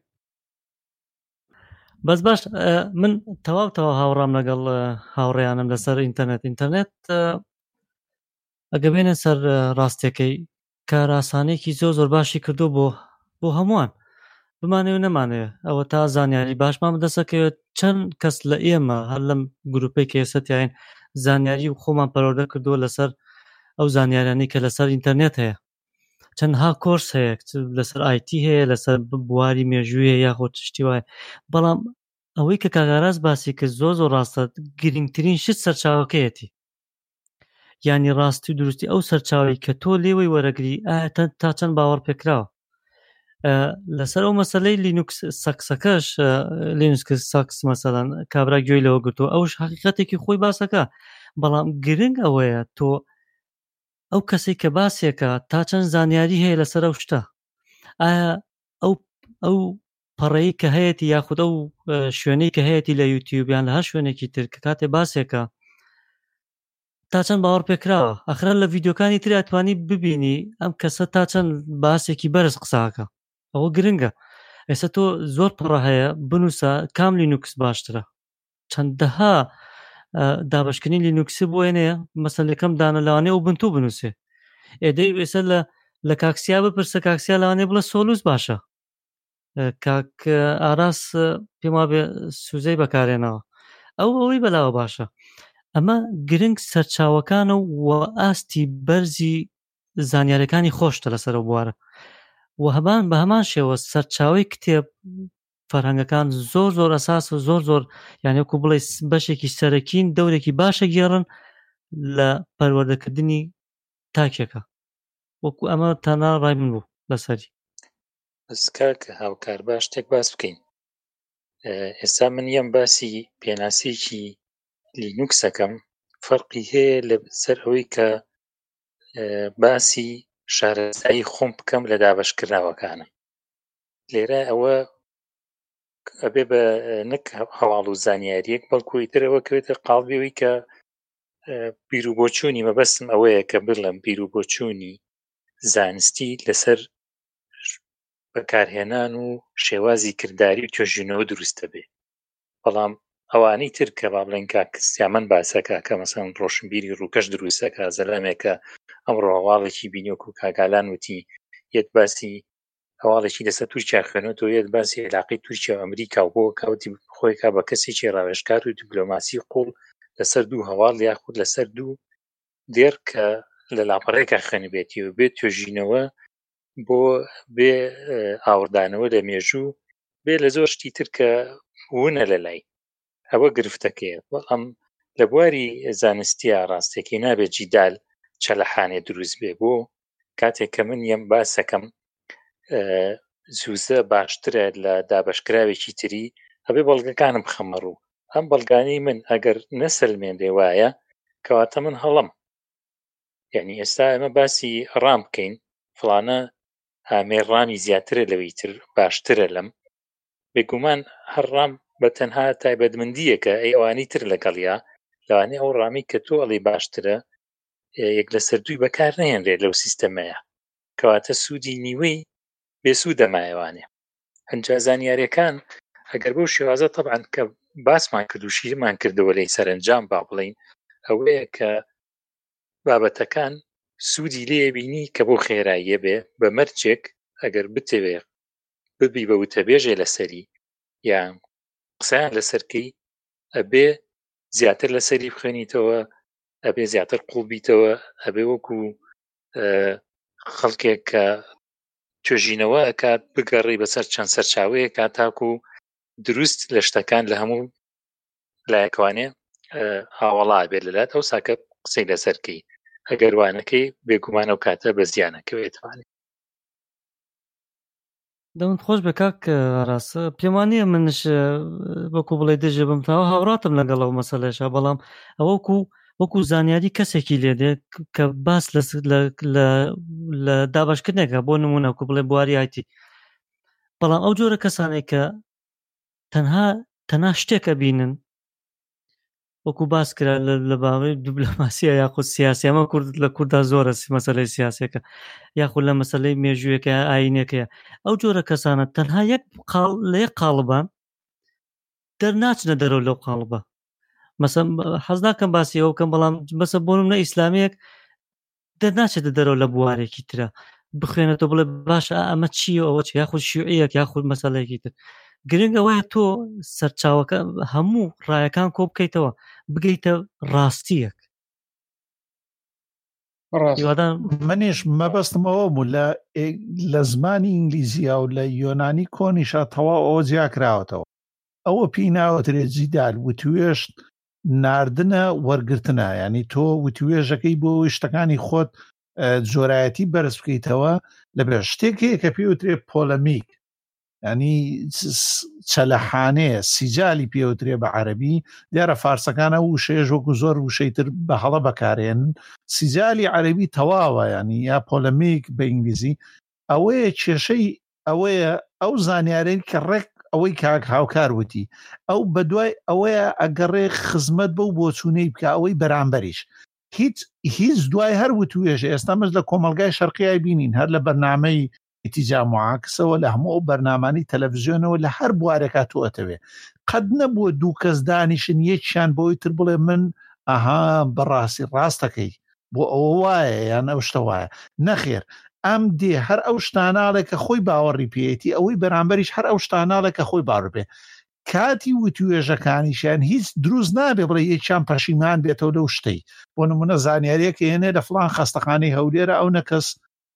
Speaker 6: بەس باش من تەواو هاوڕام لەگەڵ هاوڕێیانم لەسەر ئینتەرنێت ئەگە بێنە سەر ڕاستیەکەی کاراسانێکی زۆر باشی کردو بۆ هەمووان بمانێ و نەمانێ ئەوە تا زانیاری باشمان بدەسەکەوێت چەند کەس لە ئێمە هەر لەم گروپی کە ئێستاین زانیاری و خۆمان پەروەردە کردووە لەسەر ئەو زانیارانی کە لەسەر ئینتەرنێت هەیە چەندها کۆرس هەیە لەسەر ئایتی هەیە لەسەر بواری مێژوویە یاخۆ شتی وایە بەڵام ئەوەی کە کاگاراز باسی کرد زۆر ڕاستە گرنگترین شت سەرچاوەکەیەتی یعنی ڕاستی و دروستی ئەو سەرچاوی کە تۆ لێوەی وەرەگری تا چەند باوەڕ پێکراوە لەسەر ئەو مەسەلەی لینوکس سەکسەکەش لینوکس ساکس مەسەلەن کابرا گوێی لەوە گرتو ئەوش حقیقەتێکی خۆی باسەکە بەڵام گرنگ ئەوەیە تۆ ئەو کەسێک کە باسێکە تا چەند زانیاری هەیە لەسەر ئەو شتە ئایا ئەو پەڕەیی کە هەیەی یاخود ئەو شوێنەی کە هەیەی لە یوتیوبیان لە هەر شوێنێکی تر کە کاتێ باسێکە تا چەند باوەڕ پێکراوە ئەخرا لە ڤیدیۆکانی تر ئەتوانی ببینی ئەم کەسە تا چەند باسێکی بەرز قساکە ئەوە گرنگە ئێستا تۆ زۆر پڕە هەیە بنووسە کام لینوکس باشترە چەندەها دابشکردنی لینوکسی بۆێنەیە مەسەلەکەم دانە لەوانێ ئەو بنتو بنووسێ ئێدەی ئێستا لە کاکسیا بپرسە کاکسیا لەوانێ بڵە سۆلوس باشە کاک ئاراس پێم وابێ سوزەی بەکارێنەوە ئەوەی بەلاوە باشە ئەمە گرنگ سەرچاوەکانە و ئاستی بەرزی زانیاریەکانی خۆشتە لەسەر بوارە و هەمان بە هەمان شێوە سەرچاوی کتێب فەرهەنگەکان زۆر ئەساس و زۆر یانێکو بڵێ بەشێکی سەرەکین دەورێکی باشە گێڕن لە پەروەردەکردنی تاکێکە وەکو ئەمە تەنها ڕای من بوو لەسەری
Speaker 3: بەسکا کە هاوکار باش شتێک باس بکەین ئێستا من یەم باسی پێناسیکی لینوکسەکەم فەرقی هەیە لە سەر ئەوەی کە باسی شارەزایی خۆم بکەم لە دابەشکراوەکانم لێرە ئەوە ئەبێ بە نەک هەواڵ و زانیاریەک بەڵکوی ترەوە کەوێتە قاڵبیەوەی کە بیرروبۆچوونی مەبەستم ئەوەیە کە بڵێم بیرروبۆچوونی زانستی لەسەر بەکارهێنان و شێوازی کردداری و توێژینەوە دروستە بێ بەڵام ئەوانەی تر کە با بڵێن کاکسیامەن باسەکە کە مەسەن ڕۆشنبیری ڕووکەش دروستەکە زەلامێکە ئەمڕۆ هەواڵێکی بینیۆک و کاگالان وتی یەت باسی هەواڵێکی لەسەر تورکیا خوێنێتەوە یەت باسی عێلاقەی تورکیا و ئەمریکا و بۆ کاوتی خۆی کا بە کەسێکی ڕاوێژکار و دیپلۆماسی قوڵ لەسەر دوو هەواڵ یاخود لەسەر دوو دێر کە لە لاپەڕێکە خوێنبێتی و بێت توێژینەوە بۆ بێ ئاوردانەوە لە مێژوو بێ لە زۆر شتی تر کە ونە لە لای ئەوە گرفتەکەیە بەڵام لە بواری زانستیە ڕاستێکی نابێت جیدال چەلەحانێ دروست بێ بۆ کاتێک کە من یەم باسەکەم زووزە باشترە لە دابشکراوێکی تری ئەبێ بەڵگەکانم بخەمە ڕوو ئەم بەڵگانەی من ئەگەر نەسەلمێنێ وایە کەواتە من هەڵم یعنی ئێستا ئەمە باسی ڕام بکەین فڵانە ئامێر ڕامی زیاترە لەوەی تر باشترە لەم بێگومان هەر ڕام بە تەنها تایبەتمەندیەکە ئەی ئەوانەی تر لەگەڵیا لەوانەیە ئەو ڕامی کە تۆ ئەڵێ باشترە یەک لەسەر دووی بەکار نەهێنرێت لەو سیستەمەیە کەواتە سوودی نیوەی بێسوودە مایەوانێ هەنجا زانیاریەکان ئەگەر بەو شێوازە طبعاً کە باسمان کرد و شیرمان کردەوە لەی سەرنجام با بڵین ئەوەیە کە بابەتەکان سوودی لێ بینی کە بۆ خێراییە بێ بە مەرجێک ئەگەر بتەوێ ببی بە وتەبێژێ لەسەری یان قسەیان لەسەرکەی ئەبێ زیاتر لەسەری بخوێنیتەوە ئەبێ زیاتر قوڵبیتەوە ئەبێ وەکو خەڵکێک کە توێژینەوە ئەکات بگەڕی بەسەر چەند سەرچاوەیە کات تاکو دروست لە شتەکان لە هەموو لایەکوانێ هاوەڵا بێت لەلات ئەو ساکە قسەی لەسەرکەی ئەگەر وانەکەی بێگومان ئەو کاتە بە زیانەکەوێتوانێت
Speaker 6: دەمت خۆش بە کاک ڕاستە پێم وانییە منش وەکو بڵێ دژە بم تاوە هاوڕاتم لەگەڵ ئەو مەسەلەشە بەڵام ئەوە وەکو زانیاری کەسێکی لێدێت کە باس لە دابشکردنێکە بۆ نمونە وەکو بڵێ بواری ئایتی بەڵام ئەو جۆرە کەسانێک کە تەنها شتێکە بینن وەکو باس کرا لە باوەی دیپلۆماسیە یاخود سیاسی ئەمە لە کووردا زۆرە مەسەلەی سیاسەکە یاخود لە مەسەلەی مێژوویەکە ئاینەکەیە ئەو جۆرە کەسانە تەنها لە یەک قاڵبان دەرناچنە دەرەوە لەو قاڵبە مەسەڵەن حەز ناکەم باسی ئەو بکەم بەڵام بەسە بۆ نمونە ئیسلامیەک دەرناچێتە دەرەوە لە بوارێکی ترە بخوێنێتەوە بڵێ باشە ئەمە چیە ئەوە چ یاخود شیوعیەک یاخود مەسەلەیەکی تر گرنگ ئەوەیە تۆ سەرچاوەکە هەموو ڕایەکان کۆ بکەیتەوە بگەیتە ڕاستیەک
Speaker 1: منیش مەبەستمەوە بوو لە زمانی ئینگلیزیە و لە یۆنانی کۆنیشە تەواو ئەوە جیاکراوەتەوە ئەوە پێی ناوەترێت جیدال وتوێشت ناردنە وەرگرتنە ینی تۆ وتوێژەکەی بۆ شتەکانی خۆت جۆرایەتی بەرز بکەیتەوە لەبێ شتێکەیە کە پێوترێ پۆلەمیک ینی چەلەحانەیە سیجالی پێوترێ بە عەربی دیارە فارسەکانە وشەیەش وەکو زۆر وشەیتر بە هەڵە بەکارێنن سیجالی عەربی تەواوە ینی یا پۆلەمیک بە ئینگلیزی ئەوەیە کێشەی ئەوەیە ئەو زانیارەی کە ڕێک ئەوەی کاک هاوکار وتی ئەو بەدوای ئەوەیە ئەگەڕێ خزمەت بەو بۆچوونەی بکە ئەوەی بەرامبەریش هیچ دوای هەر وتوێژە ئێستامەش لە کۆمەلگای شەرقیای بینین هەر لە بەرنامەی ئیتیجا معاکسەوە لە هەموو بەرنامانی تەلەڤیزیۆنەوە لە هەر بوارێکا تۆئەتەوێ قەت نەبووە دوو کەس دانیشن یەکیان بۆی تر بڵێ من ئاها بەڕاستی ڕاستەکەی بۆ ئەوە وایە یان ئەو شتە وایە نەخێر ئەم دێ هەر ئەو شتاناڵێکە خۆی باوەڕی پێێتی ئەوەی بەرامبەریش هەر ئەو شتاناڵێکە خۆی باوەڕ بێ کاتی وتوێژەکانیشیان هیچ دروست نابێ بڵێ یەکیان پەشیمان بێتەوە لەو شتەی بۆ نمونە زانیاریەکە هێنێ لە فڵان خەستەخانەی هەولێرە ئەو نەکەس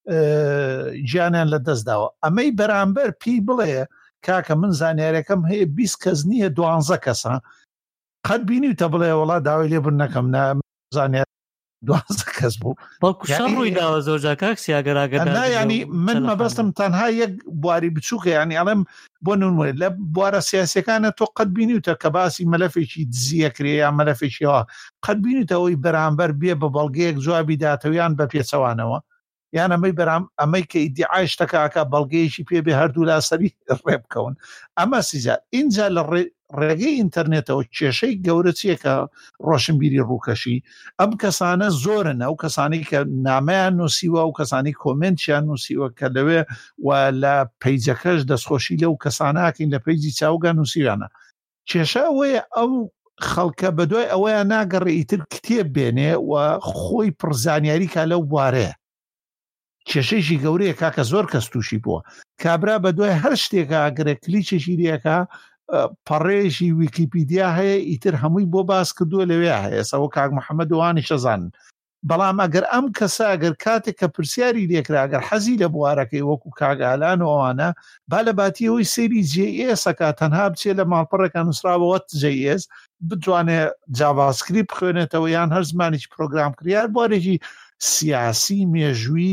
Speaker 1: گیانیان لە دەستداوە ئەمەی بەرامبەر پێی بڵێ کاکە من زانیارەکەم هەیە 20 کەس نییە 12 کەسە قەت بینیتە بڵێ وڵات داوای لێبوون نەکەم زانیار 12 کەس بوو
Speaker 6: بەڵکو شەڕ ڕووی داوە زۆرجار کاکسی ئەگەراگەدا
Speaker 1: ینی من مەبەستم تەنها یەک بواری بچووکە ینی ئەڵێم بۆ نمونە لە بوارە سیاسەکانە تۆ قەت بینیتە کە باسی مەلەفێکی دزیەکرێ یا مەلەفێکیەوە قەت بینیتەوەی بەرامبەر بێ بە بەڵگەیەک جوابی داتەویان بە پێچەوانەوە یان ئەمەی کە ئیدعای شتەکەکە بەڵگەیەکی پێبێ هەردوو لاسەری ڕێ بکەون ئەمە سیجار اینجا لە ڕێگەی ئینتەرنێتەوە کێشەی گەورە چیەکە ڕۆشنبیری ڕووکەشی ئەم کەسانە زۆرن ئەو کەسانی کە نامەیان نووسیوە و کەسانی کۆمنتیان نووسیوە کە لەوێ و لە پەیجەکەش دەستخۆشی لەو کەساناکەین لە پەیجی چاوگە نووسیوانە کێشە ئەوەیە ئەو خەڵکە بەدوای ئەوەیە ناگەڕێ ئیتر کتێب بێنێ و خۆی پڕزانیاری کا لەو بوارەیە کێشەیشی گەورەیە کاکە زۆر کەس تووشی بووە کابرا بە دوای هەر شتێکە ئەگەرە کلیچێکی ریەکە پەڕێژی ویکیپیدیا هەیە ئیتر هەمووی بۆ باس کردووە لەوێ هەیە سەوە کاک محەممەد وانی شەزانن بەڵام ئەگەر ئەم کەسە ئەگەر کاتێک کە پرسیاری لێکرا ئەگەر حەزی لە بوارەکەی وەکو کاگالان و ئەوانە با لە باتیەوەی سێری JS-ەکە تەنها بچێت لە ماڵپەڕێکە نووسراوەوە JS بتوانێت جاڤاسکریپت بخوێنێتەوە یان هەر زمانێکی پرۆگرام کریار بوارێکی سیاسی مێژووی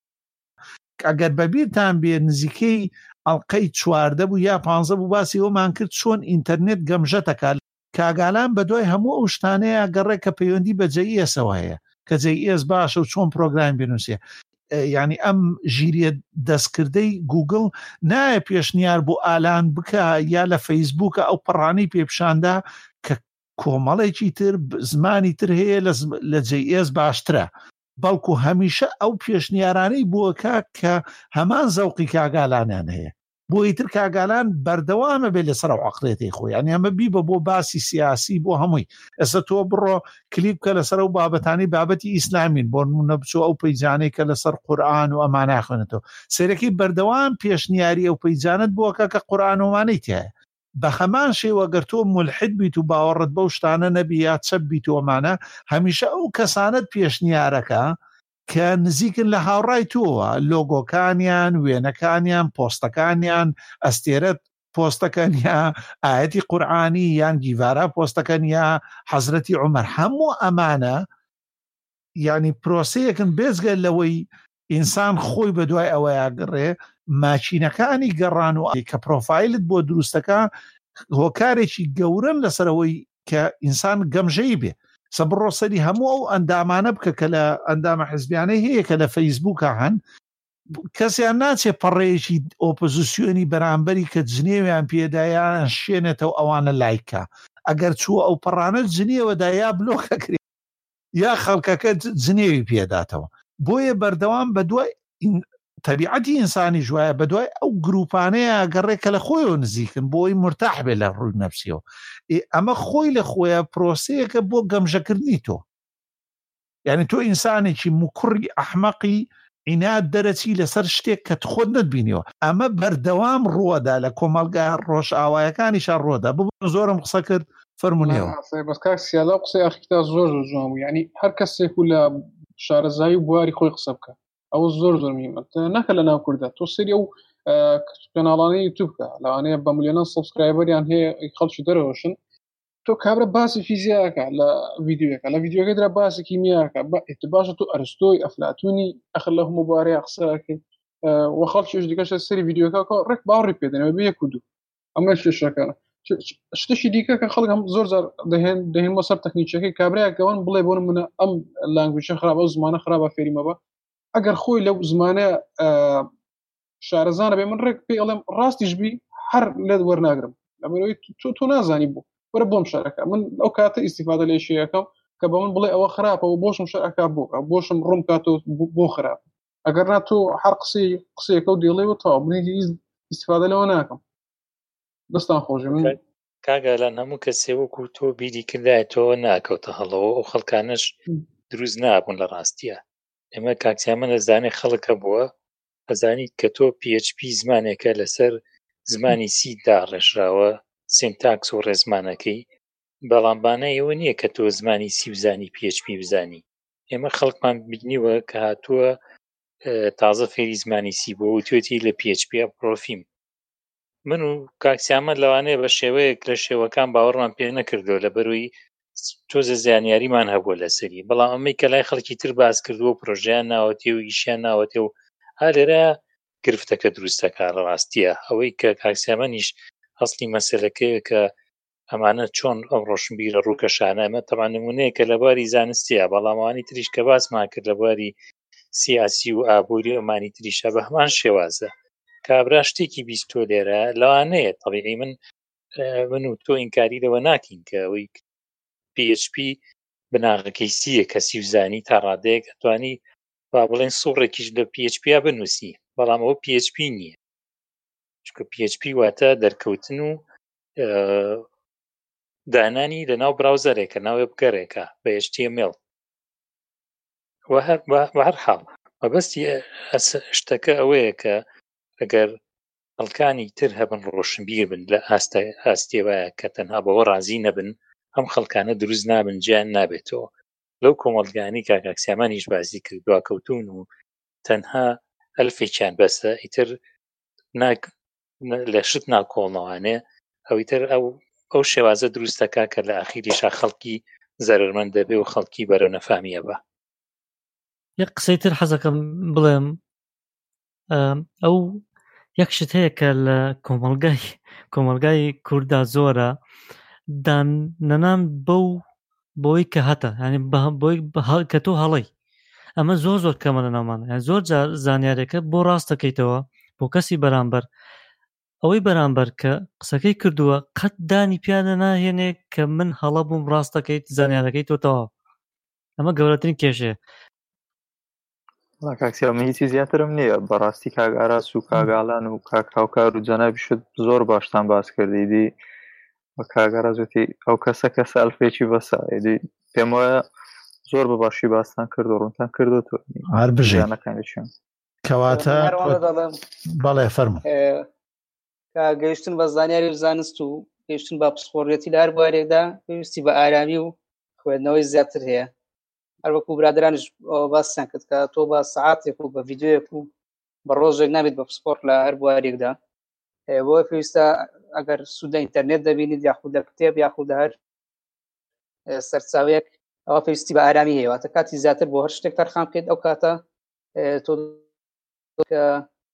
Speaker 1: ئەگەر بەبیرتان بێ نزیکەی ئەڵلقەی 14 بوو یا 15 بوو باسی ئەومان کرد چۆن ئینتەرنێت گەمژەتەکە کاگالان بەدوای هەموو ئەو شتانەیە گەڕێ کە پەیوەندی بە JS-ەوە هەیە کە JS باشە و چۆن پرۆگرام بنووسێ ینی ئەم ژیریە دەستکردەی گوگل نایە پێشنیار بۆ ئالان بکە یا لە فەیسبووکە ئەو پەڕانی پێپشاندا کە کۆمەڵێکی تر زمانی تر هەیە لە JS باشترە بەڵکو هەمیشە ئەو پێشنیارانەی بووەکە کە هەمان زەوقی کاگالانیان هەیە بۆ ئیتر کاگالان بەردەوامە بێ لەسەر و عقلێتی خۆی ینی ئەمە بیبە بۆ باسی سیاسی بۆ هەمووی ئێستا تۆ بڕۆ کلیپ کە لەسەر و بابەتانی بابەتی ئیسلامین بۆ نمونە بچوو ئەو پەیجانەی کە لەسەر قورئان و ئەمان ناخوێنێتەوە سەرەکی بەردەوام پێشنیاری ئەو پەیجانت بووەکە کە قورئان ومانەی تایە بە هەمان شێوە گەر تۆ مولحد بیت و باوەڕت بەو شتانە نەبی یا چەپ بیت ومانە هەمیشە ئەو کەسانت پێشنیارەکە کە نزیکن لە هاوڕای تۆوە لۆگۆکانیان وێنەکانیان پۆستەکانیان ئەستێرەت پۆستەکەن یا ئاەتی قورئانی یان گیڤارە پۆستەکەن یا حەزرەتی عومەر هەموو ئەمانە ینی پرۆسەیەکن بێزگە لەوەی ئینسان خۆی بە دوای ئەوەیە گەڕێ ماچینەکانی گەڕان و کە پرۆفایلت بۆ دروستەکە هۆکارێکی گەورن لەسەرەوەی کە ئینسان گەمژەی بێ سەبڕۆ سەری هەموو ئەو ئەندامانە بکە کە لە ئەندامە حزبیانەی هەیە کە لە فەیسبووکە هەن کەسیان ناچێ پەڕێیەکی ئۆپۆزیسیۆنی بەرامبەری کە جنێویان پێدایان شوێنێتەوە ئەوانە لایکە ئەگەر چوو ئەو پەڕانە جنێوەدا یا بلۆکەکرێ یا خەڵکەکە جنێوی پێداتەوە بۆیە بەردەوام بە دوای تەبیعەتی ئینسانی ژوایە بە دوای ئەو گروپانەیە گەڕێکە لە خۆیەوە نزیکن بۆی مرتاح بێ لە ڕووی نەفسیەوە ئەمە خۆی لە خۆیە پرۆسەیەکە بۆ گەمژەکردنی تۆ یعنی تۆ ئینسانێکی مکوڕی ئەحمەقی ئینات دەرەچی لەسەر شتێک کە خۆت نەتبینیەوە ئەمە بەردەوام ڕووەدا لە کۆمەلگا ڕۆژئاوایەکانیشان ڕۆدا ببوون زۆرم قسە کرد فەرمونیەوە
Speaker 2: بەس کاک سیالا قسەی ئاخیتا زۆر جوان بوو یعنی هەر کەسێک و لە شارەزایی و بواری خۆی قسە بکە ئەوە زۆر میمە نەکە لە ناو کووردا تۆ سری ئەو کەناڵانەی یوتیوب بکە لەوانەیە بە ملیۆنە سابسکرایبەریان هەیە خەڵکی دەرەوەشن تۆ کابرا باسی فیزیاکە لە ڤیدیۆەکە لە ڤیدیۆکە درا باسی کیمیاکە باشە تۆ ئەرستۆی ئەفلاتونی ئەخر لە هەموو بارەیە قسەکەی وە خەڵکیش دیکەشە سەری ڤیدیۆکە ڕێک باوەڕی پێدەنەوە بە یەک و دوو ئەمە شێشەکانە شتێکی دیکە کە خەڵک زۆر زار دەهێن بۆ سەر تەکنیکەکەی کابراایەکەوان بڵێ بۆن منە ئەم لانگویجە خراپ ئەو زمانە خراپە فێریمە بە ئەگەر خۆی لەو زمانە شارەزانە بێ من ڕێک پێ ئەڵێم ڕاستیش بی هەر لێت وەرناگرم لەبەرەوەی تۆ نازانی بوو وەرە بۆم شارەکە من ئەو کاتە ئیسیفادە لێ شەیەکەم کە بە من بڵێ ئەوە خراپەوە بۆشم شەرەکە بوو بۆشم ڕوم کاتۆ بۆ خراپ ئەگەر نا تۆ هەر قسەیەکە و دێڵێەوە تاوا بنێتی ئیسیفادە لەوە ناکەم دەستان خۆشی من
Speaker 3: کاگالان هەموو کەسێ وەکو تۆ بیری کردایەتەوە ناکەوتە هەڵەوە ئەو خەڵکانش دروست نابوون لە ڕاستیە ئێمە کاکسیامە نەزانێ خەڵکە بووە ئەزانیت کە تۆ PHP زمانێکە لەسەر زمانی سیدا ڕێژراوە سینتاکس و ڕێزمانەکەی بەڵامبانە ئێوە نییە کە تۆ زمانی سی بزانی PHP بزانی ئێمە خەڵکمان بینیوە کە هاتووە تازە فێری زمانی سی بۆ و توێتی لە PHP پرۆفیم من و کاکسیامە لەوانەیە بە شێوەیەک لە شێوەکان باوەڕمان پێ نەکردو لە بەروی تۆزە زیانیاریمان هەبووە لەسەری بەڵام ئەمەی کە لای خەڵکی تر باس کردووە پرۆژیان ناوەتێ و ئیشیان ناوەتێ و هەلێرە گرفتەکە دروستەکە لە ڕاستیە ئەوەی کە کاکسیامەنیش هەستی مەسەلەکەیە کە ئەمانە چۆن ئەم ڕۆشنبیرە ڕووکەشانە ئەمە تەمان نمونەیەکە لە باری زانستیە بەڵاموانی تریش کە باسمان کرد لە باری سیاسی و ئابووری ئەمانی تریشە بە هەمان شێوازە کابرا شتێکی بیستۆ لێرە لەوانەیە طبیعی من و تۆ ئینکاری لەوە ناکەین کە ئەوەی PHP بناغەکەی سیە کەسی وزانی تا ڕادەیەک ئەتوانی با بڵێن سوڕێکیش لە PHP بنووسی بەڵام ئەوە PHP نییە چکە PHP واتە دەرکەوتن و دانانی لە ناو براوزەرێکە ناوێ بگەڕێکە بە HTML هەر حاڵ مەبەستی شتەکە ئەوەیە کە ئەگەر خەڵکانی تر هەبن ڕۆشنبیر بن لە ئاستێوایە کە تەنها بەوە ڕازی نەبن ئەم خەڵکانە دروست نابن گیان نابێتەوە لەو کۆمەڵگانی کاکسیامانیش باسی کرد دواکەوتون و تەنها ئەلفێکیان بەسە ئیتر لە شت ناکۆڵنەوانێ ئەویتر ئەو شێوازە دروستەکە کە لە ئاخیریشا خەڵکی زەرمەند دەبێ و خەڵکی بەرەو نەفامیە بە
Speaker 6: یەک قسەی تر حەزەکەم بڵێم ئەو یەک شت هەیە کە لە کۆمەلگای کووردا زۆرە دانەنان بۆی کە هەتە ینی بۆی کە تۆ هەڵەی ئەمە زۆر کەمە لە ناومانە زۆر زانیارێکە بۆ ڕاست دەکەیتەوە بۆ کەسی بەرامبەر ئەوەی بەرامبەر کە قسەکەی کردووە قەت دانی پیانە ناهێنێ کە من هەڵە بووم ڕاست دەکەیت زانیارەکەی تۆتەوە ئەمە گەورەترین کێشەیە
Speaker 5: کاکسیامە هیچی زیاترم نییە بەڕاستی کاگاراس و کاگاڵان و کاکاوکار و جەنابیشت زۆر باشتان باس کردیدی بە کاگەڕازەتی ئەو کەسە ئەلفێکی بەسە ئیدی پێم وایە زۆر بە باشی باستان کرد و ڕوونتان کردوتۆ
Speaker 1: هەر بژێنەکانیشیان کەواتە بەڵێ فەرموو
Speaker 4: گەیشتن بە زانیاری زانست و گەیشتن بە پسپۆڕێتی لە هەر بوارێکدا پێویستی بە ئارامی و خوێندنەوەی زیاتر هەیە هەر وەکو برادرانش باسییان کرد کە تۆ بە سەعاتێک و بە ڤیدیۆیەک و بە ڕۆژێک نابێت بە پسپۆرت لە هەر بوارێکدا بۆ پێویستە ئەگەر سوودە ئینتەرنێت دەبینیت یاخود لە کتێب یاخود لە هەر سەرچاوەیەک ئەوە پێویستی بە ئارامی هەیە واتە کاتی زیاتر بۆ هەر شتێک تەرخان بکەیت ئەو کاتە تۆ کە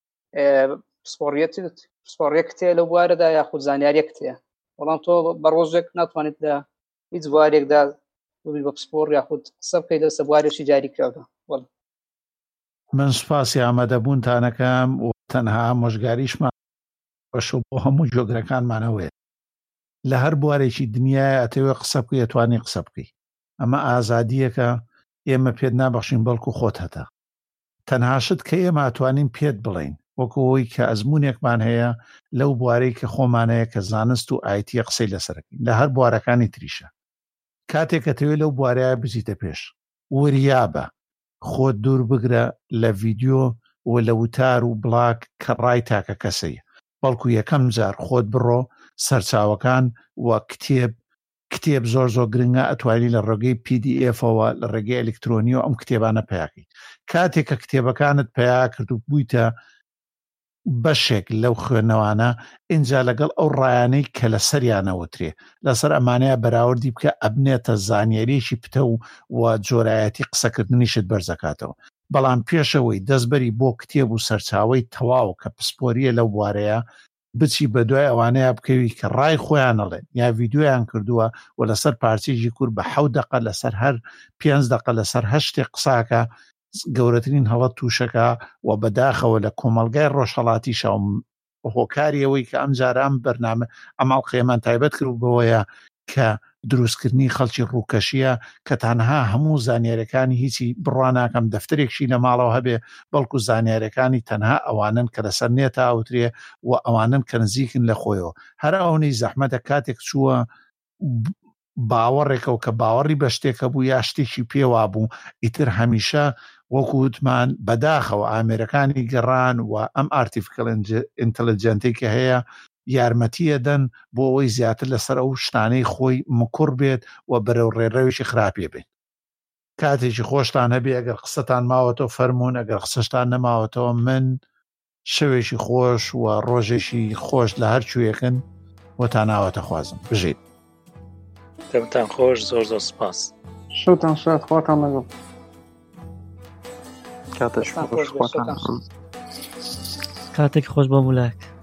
Speaker 4: پسپۆڕیەک تێ لەو بوارەدا یاخود زانیاریەک تێ بەڵام تۆ بە ڕۆژێک ناتوانێت لە هیچ بوارێکدا بە پسپۆڕ یاخود قسە بکەیت دەستە بوارێکی جاری کراودا
Speaker 1: من سوپاسی ئامادەبوونتانەکەم و تەنها ئامۆژگاریشمان بەشە بۆ هەموو جۆگرەکانمانەوەیە. لە هەر بوارێکی دنیای ئەتەوێ قسە بکەی ئەتوانی قسە بکەی. ئەمە ئازادیەکە ئێمە پێت نابەخشین بەڵکو خۆت هەتا. تەنها شت کە ئێمە ئەتوانین پێت بڵین وەکو ئەوەی کە ئەزمونێکمان هەیە لەو بوارەی کە خۆمانەیە کە زانست و ئایتیە قسەی لەسەرەکەین لە هەر بوارەکانی تریشە. کاتێک کەتەوێ لەو بوارەیە بزیتە پێش وریابە خۆت دوور بگرە لە ڤیدیۆ و لە وتار و بڵاگ کە ڕای تاکە کەسەیە، بەڵکو یەکەم جار خۆت بڕۆ سەرچاوەکان و کتێب زۆر گرنگە ئەتوانی لە ڕێگەی PDF-ەوە لە ڕێگەی ئەلکترۆنیەوە ئەم کتێبانە پیاکەی. کاتێک کە کتێبەکانت پیا کرد و بوویتە بەشێک لەو خوێندنەوانە ئینجا لەگەڵ ئەو ڕایانەی کە لە سەریانەوەترێ لەسەر ئەمانەیە بەراوردی بکە ئەبنێتە زانیاریەکی پتە و جۆرایەتی قسەکردنیشت بەرزەکاتەوە. بەڵام پێشەوەی دەستبەری بۆ کتێب و سەرچاوەی تەواو کە پسپۆریە لەو بوارەیە بچی بە دوای ئەوانەیە بکەوی کە ڕای خۆیانەڵێن یا ڤیدیۆیان کردووە و لەسەر پارچێکی کورد بە 7 دقە لەسەر هەر 5 دقە لەسەر 8 قساکە گەورەترین هەڵەت تووشەکە و بەداخەوە لە کۆمەلگای ڕۆژهەڵاتی شاوم هۆکاریەوەی کە ئەم جاران بەرنامە ئەماڵ قێمان تایبەت کرد بەوەیە کە دروستکردنی خەڵکی ڕووکەشیە کە تەنها هەموو زانیاریەکانی هیچی بڕواناکەم دەفتەرێکشی لە ماڵەوە هەبێ بەڵکو زانیاریەکانی تەنها ئەوانن کە لەسەر نێتە ئاوترێ و ئەوانن کە نزیکن لە خۆیەوە. هەر ئەوەی زەحمەتە کاتێک چووە باوەڕێکە و کە باوەڕی بە شتێکە بوو یا شتێکی پێوا بوو ئیتر هەمیشە وەکو وتمان بەداخەوە ئامێرەکانی گەڕان و ئەم ئارتیفیکەڵ ئینتەلیجەنتەی کە هەیە یارمەتیە دەن بۆ ئەوەی زیاتر لەسەر ئەو شتانەی خۆی مکوڕ بێت و بەرەو ڕێڕەوێکی خراپێ بێت. کاتێکی خۆشتان هەبێ ئەگەر قسەتان ماوەتەوە فەرمونون، ئەگەر قسەشتان نەماوەتەوە من شەوێکی خۆش و ڕۆژێکی خۆش لە هەر کوێیەکن وەتان ناوەتە خوازم بژیت.
Speaker 3: دەمتان خۆش، زۆر سپاس.
Speaker 2: شەوتان شاد، خواتان لەگەڵ.
Speaker 5: کاتێک خۆش، خواتان لەگەڵ.
Speaker 6: کاتێک خۆش بە مولەک.